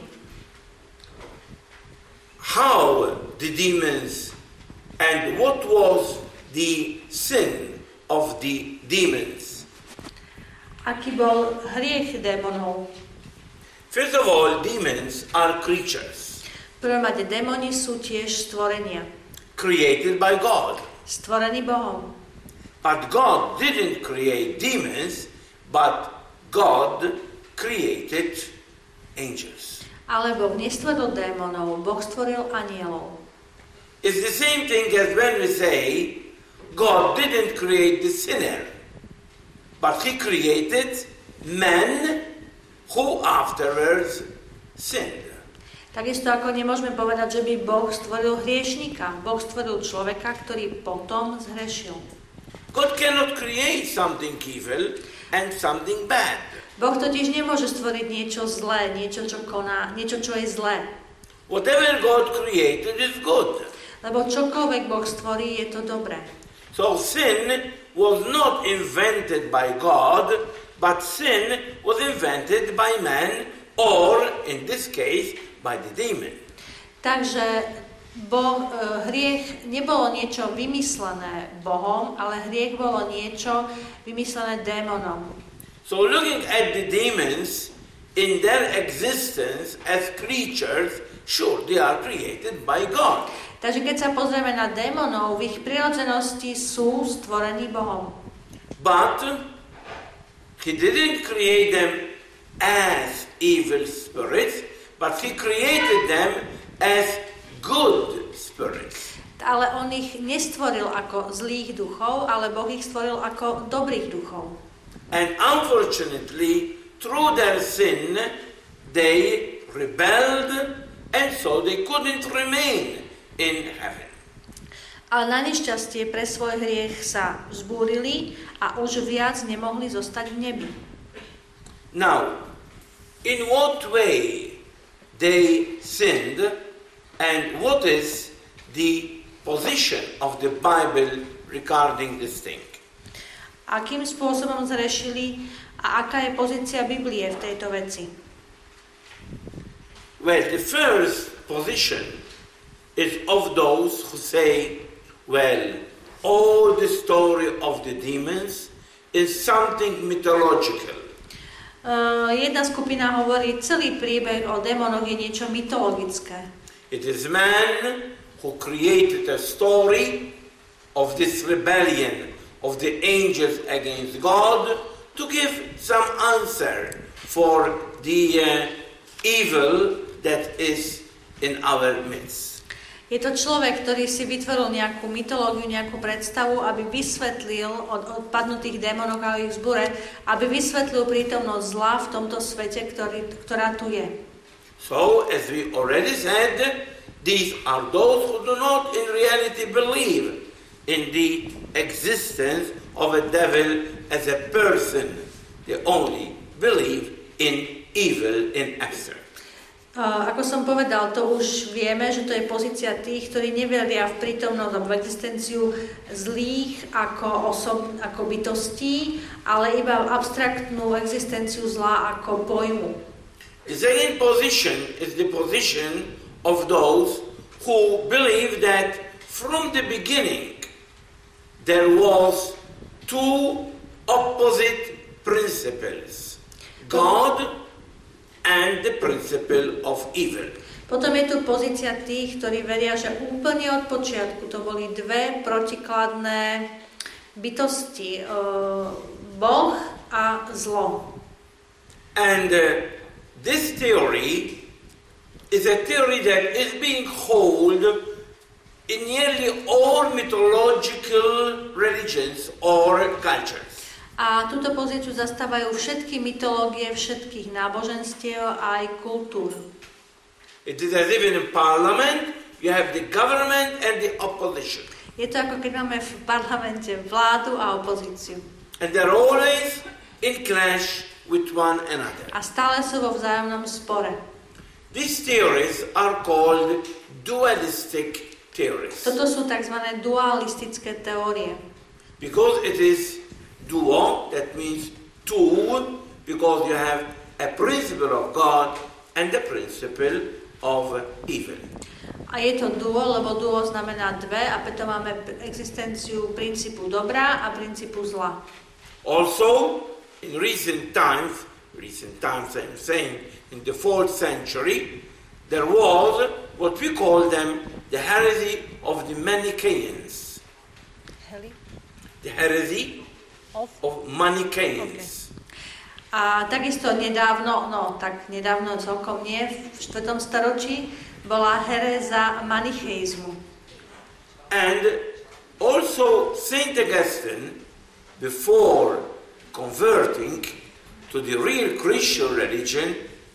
Speaker 1: How the demons and what was the sin of the demons?
Speaker 2: Aký bol hriech démonov?
Speaker 1: First of all, demons are creatures.
Speaker 2: V prvom rade, démoni sú tiež stvorenia.
Speaker 1: Created by God.
Speaker 2: Stvorení Bohom.
Speaker 1: But God didn't create demons, but God created angels.
Speaker 2: Ale Boh nestvoril démonov, Boh stvoril anielov.
Speaker 1: It's the same thing as when we say God didn't create the sinner, but he created men who afterwards sinned.
Speaker 2: Takisto ako nemôžeme povedať, že by Boh stvoril hriešnika. Boh stvoril človeka, ktorý potom zhrešil.
Speaker 1: God cannot create something evil and something bad.
Speaker 2: Boh totiž nemôže stvoriť niečo zlé, niečo, čo koná, niečo, čo je zlé.
Speaker 1: Whatever God created is good.
Speaker 2: Lebo čokoľvek Boh stvorí, je to dobré.
Speaker 1: So sin was not invented by God, but sin was invented by man, or in this case, by the demon.
Speaker 2: Takže Boh, hriech nebolo niečo vymyslené Bohom, ale hriech bolo niečo vymyslené démonom.
Speaker 1: So looking at the demons in their existence as creatures, sure, they are created by God.
Speaker 2: Takže keď sa pozrieme na démonov, v ich prirodzenosti sú stvorení Bohom.
Speaker 1: But he didn't create them as evil spirits, but he created them as good spirits.
Speaker 2: Ale on ich nestvoril ako zlých duchov, ale Boh ich stvoril ako dobrých duchov.
Speaker 1: And unfortunately, through their sin, they rebelled, and so they couldn't remain in heaven.
Speaker 2: Ale na nešťastie pre svoj hriech sa vzbúrili a už viac nemohli zostať v nebi.
Speaker 1: Now, in what way they sinned, and what is the position of the Bible regarding this thing?
Speaker 2: Akým spôsobom zrešili a aká je pozícia Biblie v tejto veci?
Speaker 1: Well, the first position is of those who say, well, all the story of the demons is something mythological.
Speaker 2: Uh, jedna skupina hovorí, celý príbeh o démonoch je niečo mytologické.
Speaker 1: It is man who created a story of this rebellion of the angels against God to give some answer for the uh, evil that is in our midst.
Speaker 2: Je to človek, ktorý si vytvoril nejakú mytológiu, nejakú predstavu, aby vysvetlil od, od padnutých démonov a ich zbure, aby vysvetlil prítomnosť zla v tomto svete, ktorý, ktorá tu je.
Speaker 1: So, as we already said, these are those who do not in reality believe in the existence of a devil as a person. They only believe in evil in abstract.
Speaker 2: Uh, ako som povedal, to už vieme, že to je pozícia tých, ktorí neveria v prítomnosť alebo v existenciu zlých ako osob, ako bytostí, ale iba v abstraktnú existenciu zla ako pojmu.
Speaker 1: The second position is the position of those who believe that from the beginning there was two opposite principles, God and the principle of evil.
Speaker 2: Potom je tu pozícia tých, ktorí veria, že úplne od počiatku to boli dve protikladné bytosti, uh, Boh a zlo.
Speaker 1: And uh, this theory is a theory that is being held in nearly all mythological religions or cultures.
Speaker 2: A túto pozíciu zastávajú všetky mytológie, všetkých náboženstiev a aj kultúr.
Speaker 1: It is as if in a parliament you have the government and the opposition.
Speaker 2: Je to ako keď máme v parlamente vládu a opozíciu.
Speaker 1: And they're always in clash with one another.
Speaker 2: A stále sú vo vzájomnom spore.
Speaker 1: These theories are called dualistic theories.
Speaker 2: Toto sú tzv. Dualistické teórie.
Speaker 1: Because it is duo, that means two, because you have a principle of God and the principle of evil.
Speaker 2: A je to duo, lebo duo znamená dve a preto máme existenciu princípu dobra a princípu zla.
Speaker 1: Also, in recent times, recent times I'm saying, in the fourth century, there was what we call them the heresy of the Manichaeans.
Speaker 2: Heli?
Speaker 1: The heresy of, of Manichaeans.
Speaker 2: Okay. A takisto nedávno, no tak nedávno celkom nie, v štvrtom storočí bola heréza manicheizmu.
Speaker 1: And also Saint Augustine, before converting to the real Christian religion,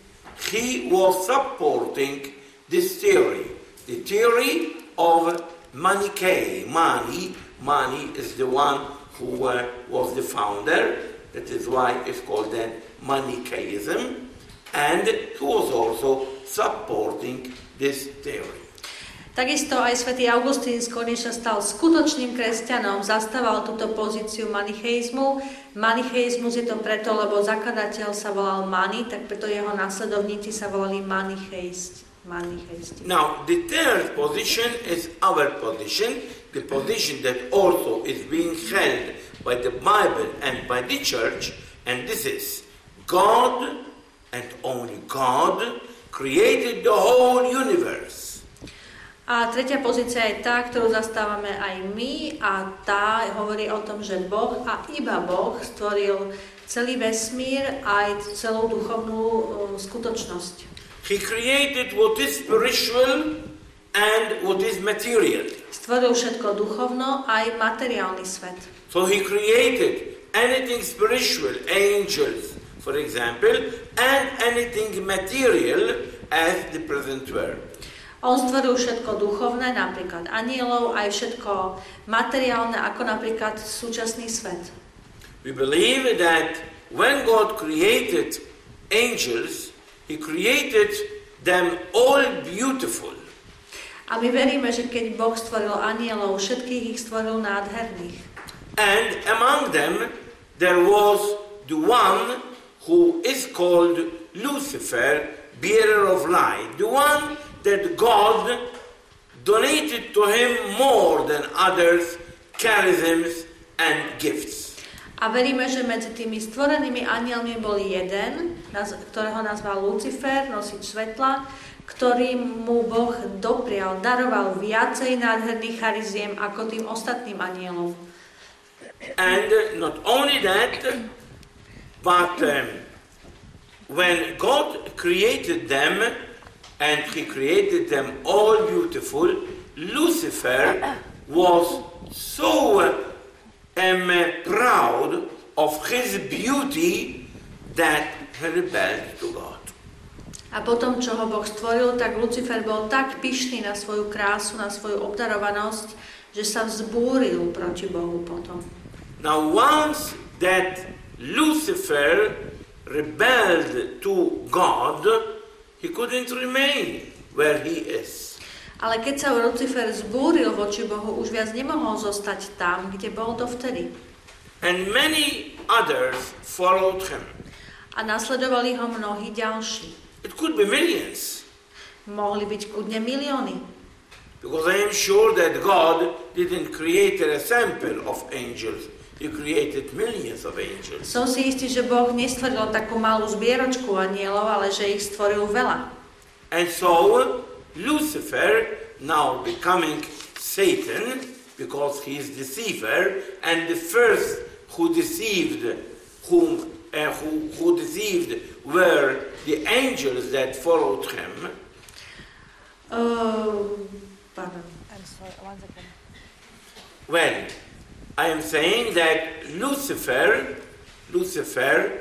Speaker 1: he was supporting this theory, the theory of Manichae. Mani, Mani is the one who uh, was the founder, that is why it's called then Manichaeism, and who was also supporting this theory.
Speaker 2: Takisto aj svätý Augustín skôr než sa stal skutočným kresťanom, zastával túto pozíciu manicheizmu. Manicheizmus je to preto, lebo zakladateľ sa volal Mani, tak preto jeho následovníci sa volali manicheisti. manicheisti.
Speaker 1: Now, the third position is our position, the position that also is being held by the Bible and by the church, and this is God and only God created the whole universe.
Speaker 2: A tretia pozícia je tá, ktorú zastávame aj my, a tá hovorí o tom, že Boh a iba Boh stvoril celý vesmír aj celú duchovnú uh, skutočnosť.
Speaker 1: He created what is spiritual and what is material.
Speaker 2: Stvoril všetko duchovno aj materiálny svet.
Speaker 1: So he created anything spiritual, angels, for example, and anything material as the present world.
Speaker 2: On stvoril všetko duchovné, napríklad anielov, aj všetko materiálne, ako napríklad súčasný svet.
Speaker 1: We believe that when God created angels, He created them all beautiful.
Speaker 2: A my veríme, že keď Boh stvoril anielov, všetkých ich stvoril nádherných.
Speaker 1: And among them there was the one who is called Lucifer, bearer of light, the one that God donated to him more than others charisms and gifts.
Speaker 2: A veríme, že medzi tými stvorenými anielmi bol jeden, ktorého nazval Lucifer, nosič svetla, ktorý mu Boh doprial, daroval viacej nádherných chariziem ako tým ostatným anielom.
Speaker 1: And not only that, but um, when God created them, and He created them all beautiful, Lucifer was so um, proud of his beauty that he rebelled to God.
Speaker 2: A potom, čo ho Boh stvoril, tak Lucifer bol tak pyšný na svoju krásu, na svoju obdarovanosť, že sa vzbúril proti Bohu potom.
Speaker 1: Now once that Lucifer rebelled to God, he couldn't remain where he is.
Speaker 2: Ale keď sa Lucifer zbúril voči Bohu, už viac nemohol zostať tam, kde bol dovtedy.
Speaker 1: And many others followed him.
Speaker 2: A nasledovali ho mnohí ďalší.
Speaker 1: It could be millions.
Speaker 2: Mohli byť kľudne milióny.
Speaker 1: Because I am sure that God didn't create a sample of angels. He created millions of angels.
Speaker 2: Som si istý, že Boh nestvoril takú malú zbieročku anielov, ale že ich stvoril veľa.
Speaker 1: And so Lucifer, now becoming Satan, because he is deceiver, and the first who deceived, whom uh, who, who deceived were the angels that followed him.
Speaker 2: Uh, pardon. I'm sorry, one second.
Speaker 1: Well, I am saying that Lucifer, Lucifer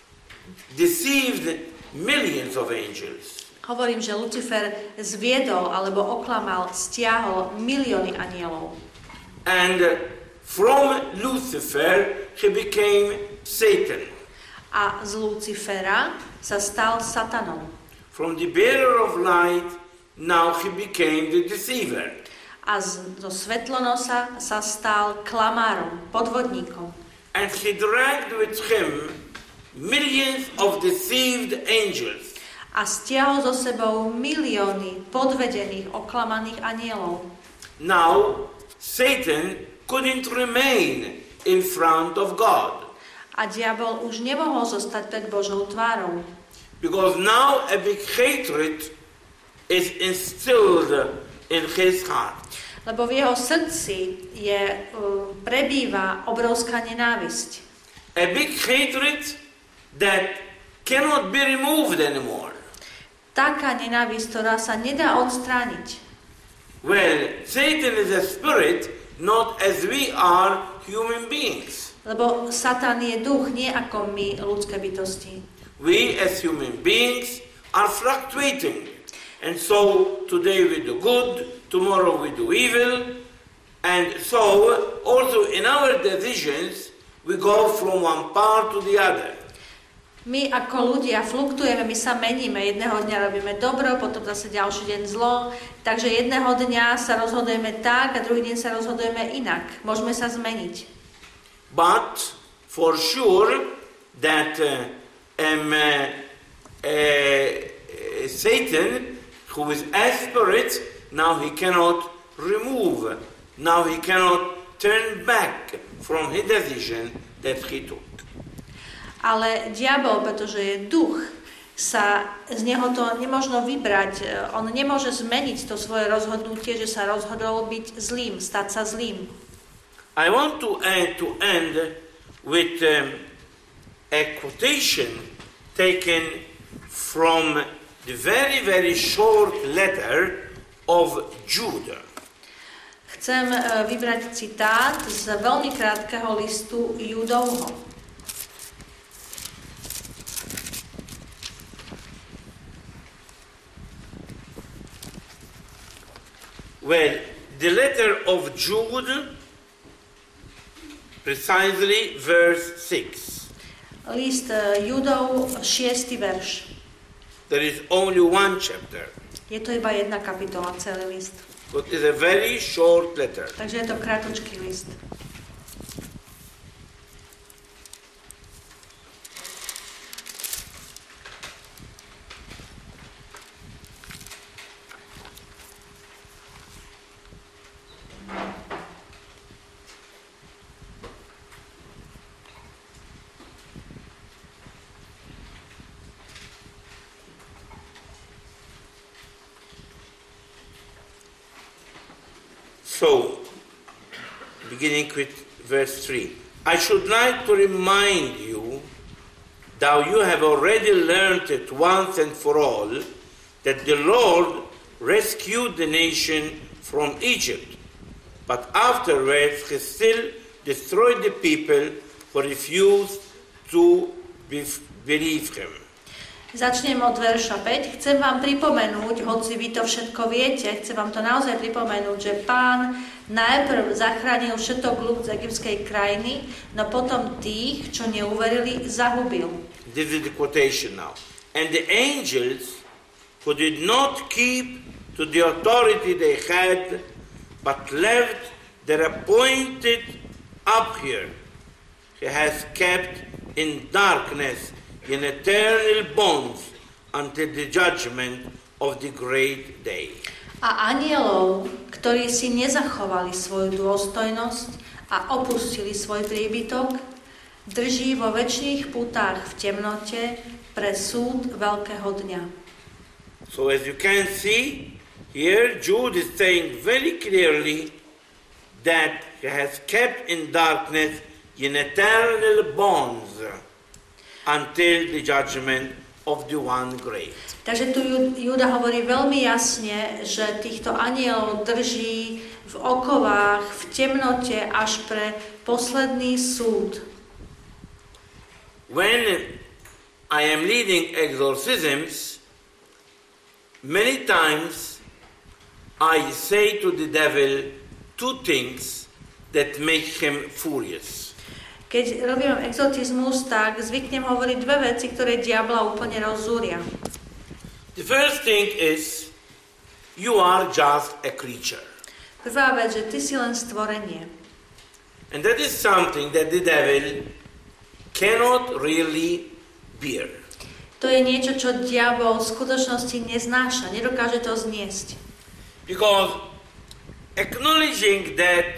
Speaker 1: deceived millions of angels.
Speaker 2: Hovorím, že Lucifer zviedol alebo oklamal, stiahol milióny anielov.
Speaker 1: And from Lucifer he became Satan.
Speaker 2: A z Lucifera sa stal Satanom.
Speaker 1: From the bearer of light, now he became the deceiver.
Speaker 2: A z, zo svetlonosa sa stal klamárom, podvodníkom.
Speaker 1: And he dragged with him millions of deceived angels.
Speaker 2: A stiahol so sebou milióny podvedených, oklamaných anielov.
Speaker 1: Now, Satan couldn't remain in front of God.
Speaker 2: A diabol už nemohol zostať pred Božou tvárou.
Speaker 1: Because now a big hatred is instilled in his heart.
Speaker 2: Lebo v jeho srdci je, uh, prebýva obrovská nenávisť.
Speaker 1: A big hatred that cannot be removed anymore.
Speaker 2: Taká nenávisť, ktorá sa nedá odstrániť.
Speaker 1: Well, Satan is a spirit, not as we are human beings.
Speaker 2: Lebo Satan je duch, nie ako my, ľudské bytosti.
Speaker 1: We as human beings are fluctuating. And so today we do good, tomorrow we do evil. And so also in our decisions we go from one part to the other.
Speaker 2: My ako ľudia fluktujeme, my sa meníme. Jedného dňa robíme dobro, potom zase ďalší deň zlo. Takže jedného dňa sa rozhodujeme tak a druhý deň sa rozhodujeme inak. Môžeme sa zmeniť.
Speaker 1: But for sure that uh, um, uh, uh, Satan, who is a spirit, now he cannot remove, now he cannot turn back from his decision that he took.
Speaker 2: Ale diabol, pretože je duch, sa z neho to nemožno vybrať. On nemôže zmeniť to svoje rozhodnutie, že sa rozhodol byť zlým, stať sa zlým.
Speaker 1: I want to end, to end with um, a quotation taken from the very, very short letter of Jude.
Speaker 2: Chcem vybrať citát z veľmi krátkeho listu Judovho.
Speaker 1: Well, the letter of Jude, precisely verse six.
Speaker 2: List Judov, šiesty verš.
Speaker 1: There is only one chapter.
Speaker 2: Je to iba jedna kapitola, celý list.
Speaker 1: But it's a very short letter.
Speaker 2: Takže je to krátučký list.
Speaker 1: So, beginning with verse three. I should like to remind you, though you have already learned it once and for all, that the Lord rescued the nation from Egypt, but afterwards he still destroyed the people who refused to believe him.
Speaker 2: Začnem od verša päť. Chcem vám pripomenúť, hoci vy to všetko viete, chcem vám to naozaj pripomenúť, že Pán najprv zachránil všetok ľud z egyptskej krajiny, no potom tých, čo neuverili, zahubil.
Speaker 1: This is the quotation now. And the angels who did not keep to the authority they had, but left their appointed up here, he has kept in darkness in eternal bonds until the judgment of the great day.
Speaker 2: A anielov, ktorí si nezachovali svoju dôstojnosť a opustili svoj príbytok, drží vo večných putách v temnote pre súd veľkého dňa.
Speaker 1: So as you can see, here Jude is saying very clearly that he has kept in darkness in eternal bonds until the judgment of the one great.
Speaker 2: Takže tu Júda hovorí veľmi jasne, že týchto anielov drží v okovách, v temnote až pre posledný súd.
Speaker 1: When I am leading exorcisms, many times I say to the devil two things that make him furious.
Speaker 2: Keď robím exorcizmus, tak zvyknem hovoriť dve veci, ktoré diabla úplne rozzúria.
Speaker 1: The first thing is, you are just a creature.
Speaker 2: Prvá vec, že ty si len stvorenie.
Speaker 1: And that is something that the devil cannot really bear.
Speaker 2: To je niečo, čo diabol v skutočnosti neznáša, nedokáže to zniesť.
Speaker 1: Because acknowledging that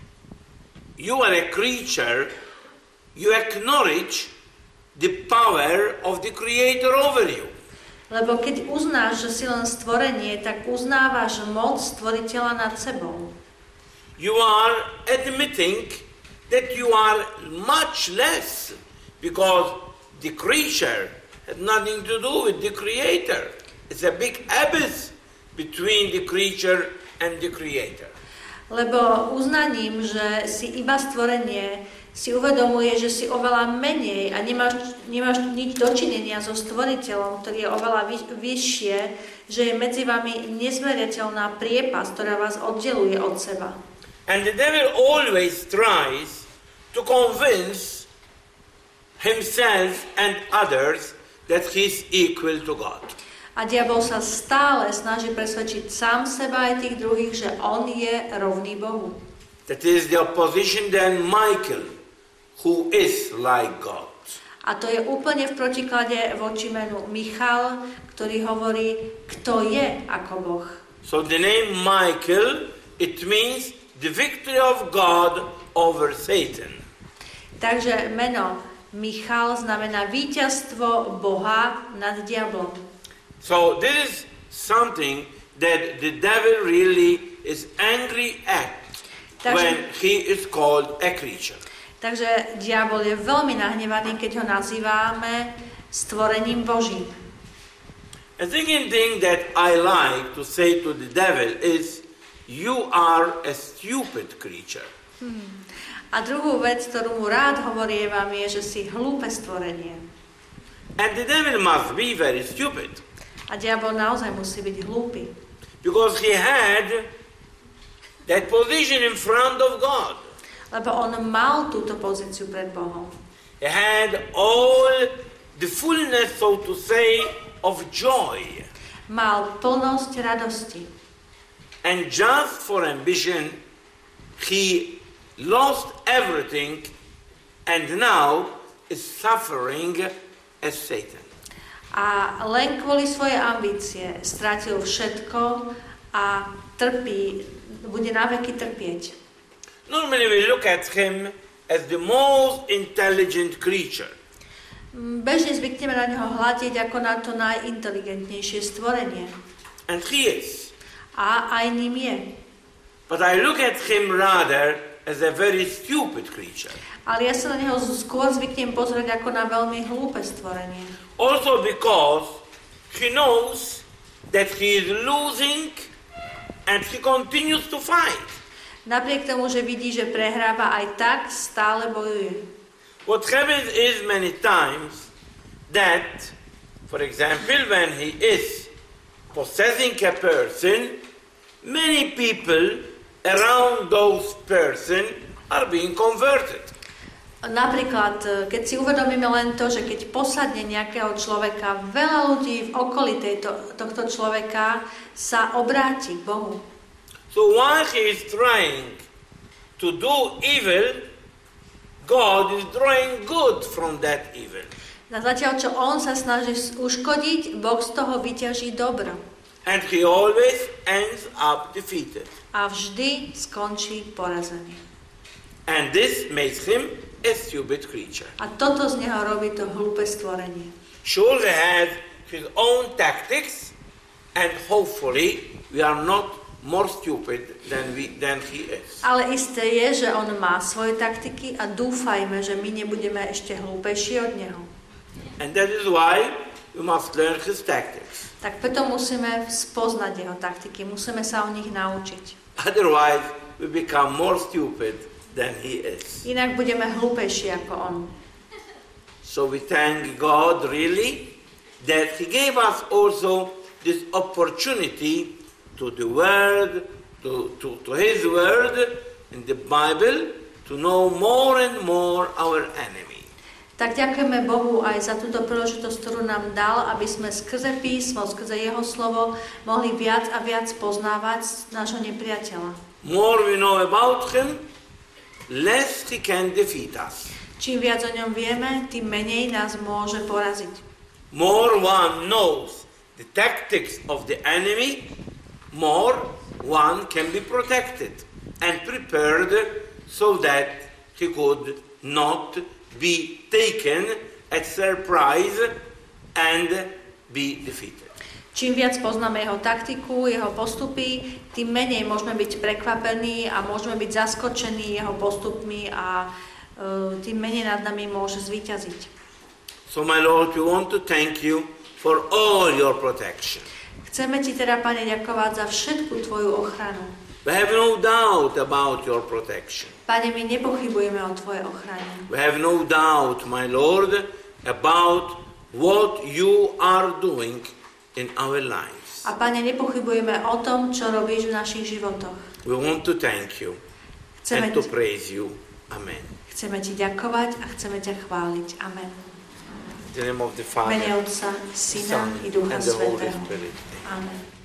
Speaker 1: you are a creature, you acknowledge the power of the Creator over you.
Speaker 2: Lebo keď uznáš, že si len stvorenie, tak uznávaš moc stvoriteľa nad sebou.
Speaker 1: You are admitting that you are much less, because the creature has nothing to do with the Creator. It's a big abyss between the creature and the Creator.
Speaker 2: Lebo uznaním, že si iba stvorenie, si uvedomuje, že si oveľa menej a nemáš, nemáš nič dočinenia so stvoriteľom, ktorý je oveľa vyš, vyššie, že je medzi vami nezmeriateľná priepas, ktorá vás oddeluje od seba.
Speaker 1: And the devil always tries to convince himself and others that he is equal to God.
Speaker 2: A diabol sa stále snaží presvedčiť sám seba aj tých druhých, že on je rovný Bohu.
Speaker 1: That is the opposition then Michael, who is like God.
Speaker 2: A to je úplne v protiklade voči menu Michal, ktorý hovorí, kto je ako Boh.
Speaker 1: So the name Michael, it means the victory of God over Satan.
Speaker 2: Takže meno Michal znamená víťazstvo Boha nad diablom.
Speaker 1: So this is something that the devil really is angry at
Speaker 2: Takže,
Speaker 1: when he is called a creature.
Speaker 2: takže diabol je veľmi nahnevaný, keď ho nazývame stvorením Božím.
Speaker 1: A second thing that I like to say to the devil is, you are a stupid creature.
Speaker 2: Hmm. A druhú vec, ktorú mu rád hovorievam, je, že si hlúpe stvorenie.
Speaker 1: And the devil must be very stupid.
Speaker 2: A diabol naozaj musí byť hlúpy.
Speaker 1: Because he had that position in front of God.
Speaker 2: Lebo on mal túto pozíciu pred Bohom.
Speaker 1: He had all the fullness, so to say, of joy.
Speaker 2: Mal plnosť radosti.
Speaker 1: And just for ambition, he lost everything and now is suffering as Satan.
Speaker 2: A len kvôli svojej ambície strátil všetko a trpí, bude naveky trpieť.
Speaker 1: Normally we look at him as the most intelligent creature.
Speaker 2: Bežne zvykneme na neho hľadiť ako na to najinteligentnejšie stvorenie.
Speaker 1: And he is.
Speaker 2: A aj ním je.
Speaker 1: But I look at him rather as a very stupid creature.
Speaker 2: Ale ja sa na neho skôr zvyknem pozrieť ako na veľmi hlúpe stvorenie.
Speaker 1: Also because he knows that he is losing and he continues to fight.
Speaker 2: Napriek tomu, že vidí, že prehráva, aj tak stále bojuje.
Speaker 1: What happens is many times that, for example, when he is possessing a person, many people around those person are being converted.
Speaker 2: Napríklad, keď si uvedomíme len to, že keď posadne nejakého človeka, veľa ľudí v okolí tejto, tohto človeka sa obráti k Bohu.
Speaker 1: So while he is trying to do evil, God is drawing good from that evil.
Speaker 2: Na zatiaľ, čo on sa snaží uškodiť, Boh z toho vyťaží dobro.
Speaker 1: And he always ends up defeated.
Speaker 2: A vždy skončí porazený.
Speaker 1: And this makes him a stupid creature.
Speaker 2: A toto z neho robí to hlúpe stvorenie.
Speaker 1: Sure, he has his own tactics, and hopefully we are not more stupid than, we, than he is.
Speaker 2: Ale isté je, že on má svoje taktiky a dúfajme, že my nebudeme ešte hlúpejší od neho.
Speaker 1: And that is why we must learn his tactics.
Speaker 2: Tak preto musíme spoznať jeho taktiky, musíme sa o nich naučiť.
Speaker 1: Otherwise, we become more stupid than he is.
Speaker 2: Inak budeme hlúpejší ako on.
Speaker 1: So we thank God really that he gave us also this opportunity to the word, to, to, to his word in the Bible, to know more and more our enemy.
Speaker 2: Tak ďakujeme Bohu aj za túto príležitosť, ktorú nám dal, aby sme skrze písmo, skrze jeho slovo mohli viac a viac poznávať nášho nepriateľa.
Speaker 1: More we know about him, less he can defeat us.
Speaker 2: Čím viac o ňom vieme, tým menej nás môže poraziť.
Speaker 1: More one knows the tactics of the enemy, more one can be protected and prepared so that he could not be taken at surprise and be defeated.
Speaker 2: Čím viac poznáme jeho taktiku, jeho postupy, tým menej môžeme byť prekvapení a môžeme byť zaskočení jeho postupmi a uh, tým menej nad nami môže zvíťaziť.
Speaker 1: So my Lord, we want to thank you for all your protection.
Speaker 2: Chceme ti teda, Pane, ďakovať za všetku tvoju ochranu.
Speaker 1: We have no doubt about your protection.
Speaker 2: Pane, my nepochybujeme o tvojej ochrane.
Speaker 1: We have no doubt, my Lord, about what you are doing in our lives.
Speaker 2: A Pane, nepochybujeme o tom, čo robíš v našich životoch.
Speaker 1: We want to thank you
Speaker 2: Chceme
Speaker 1: and to
Speaker 2: ti,
Speaker 1: praise you. Amen.
Speaker 2: chceme ti ďakovať a chceme ťa chváliť. Amen.
Speaker 1: In the name of the Father,
Speaker 2: Mene Otca, Syna
Speaker 1: Son,
Speaker 2: i Ducha
Speaker 1: and the Holy
Speaker 2: Svätého.
Speaker 1: Spirit.
Speaker 2: Amen.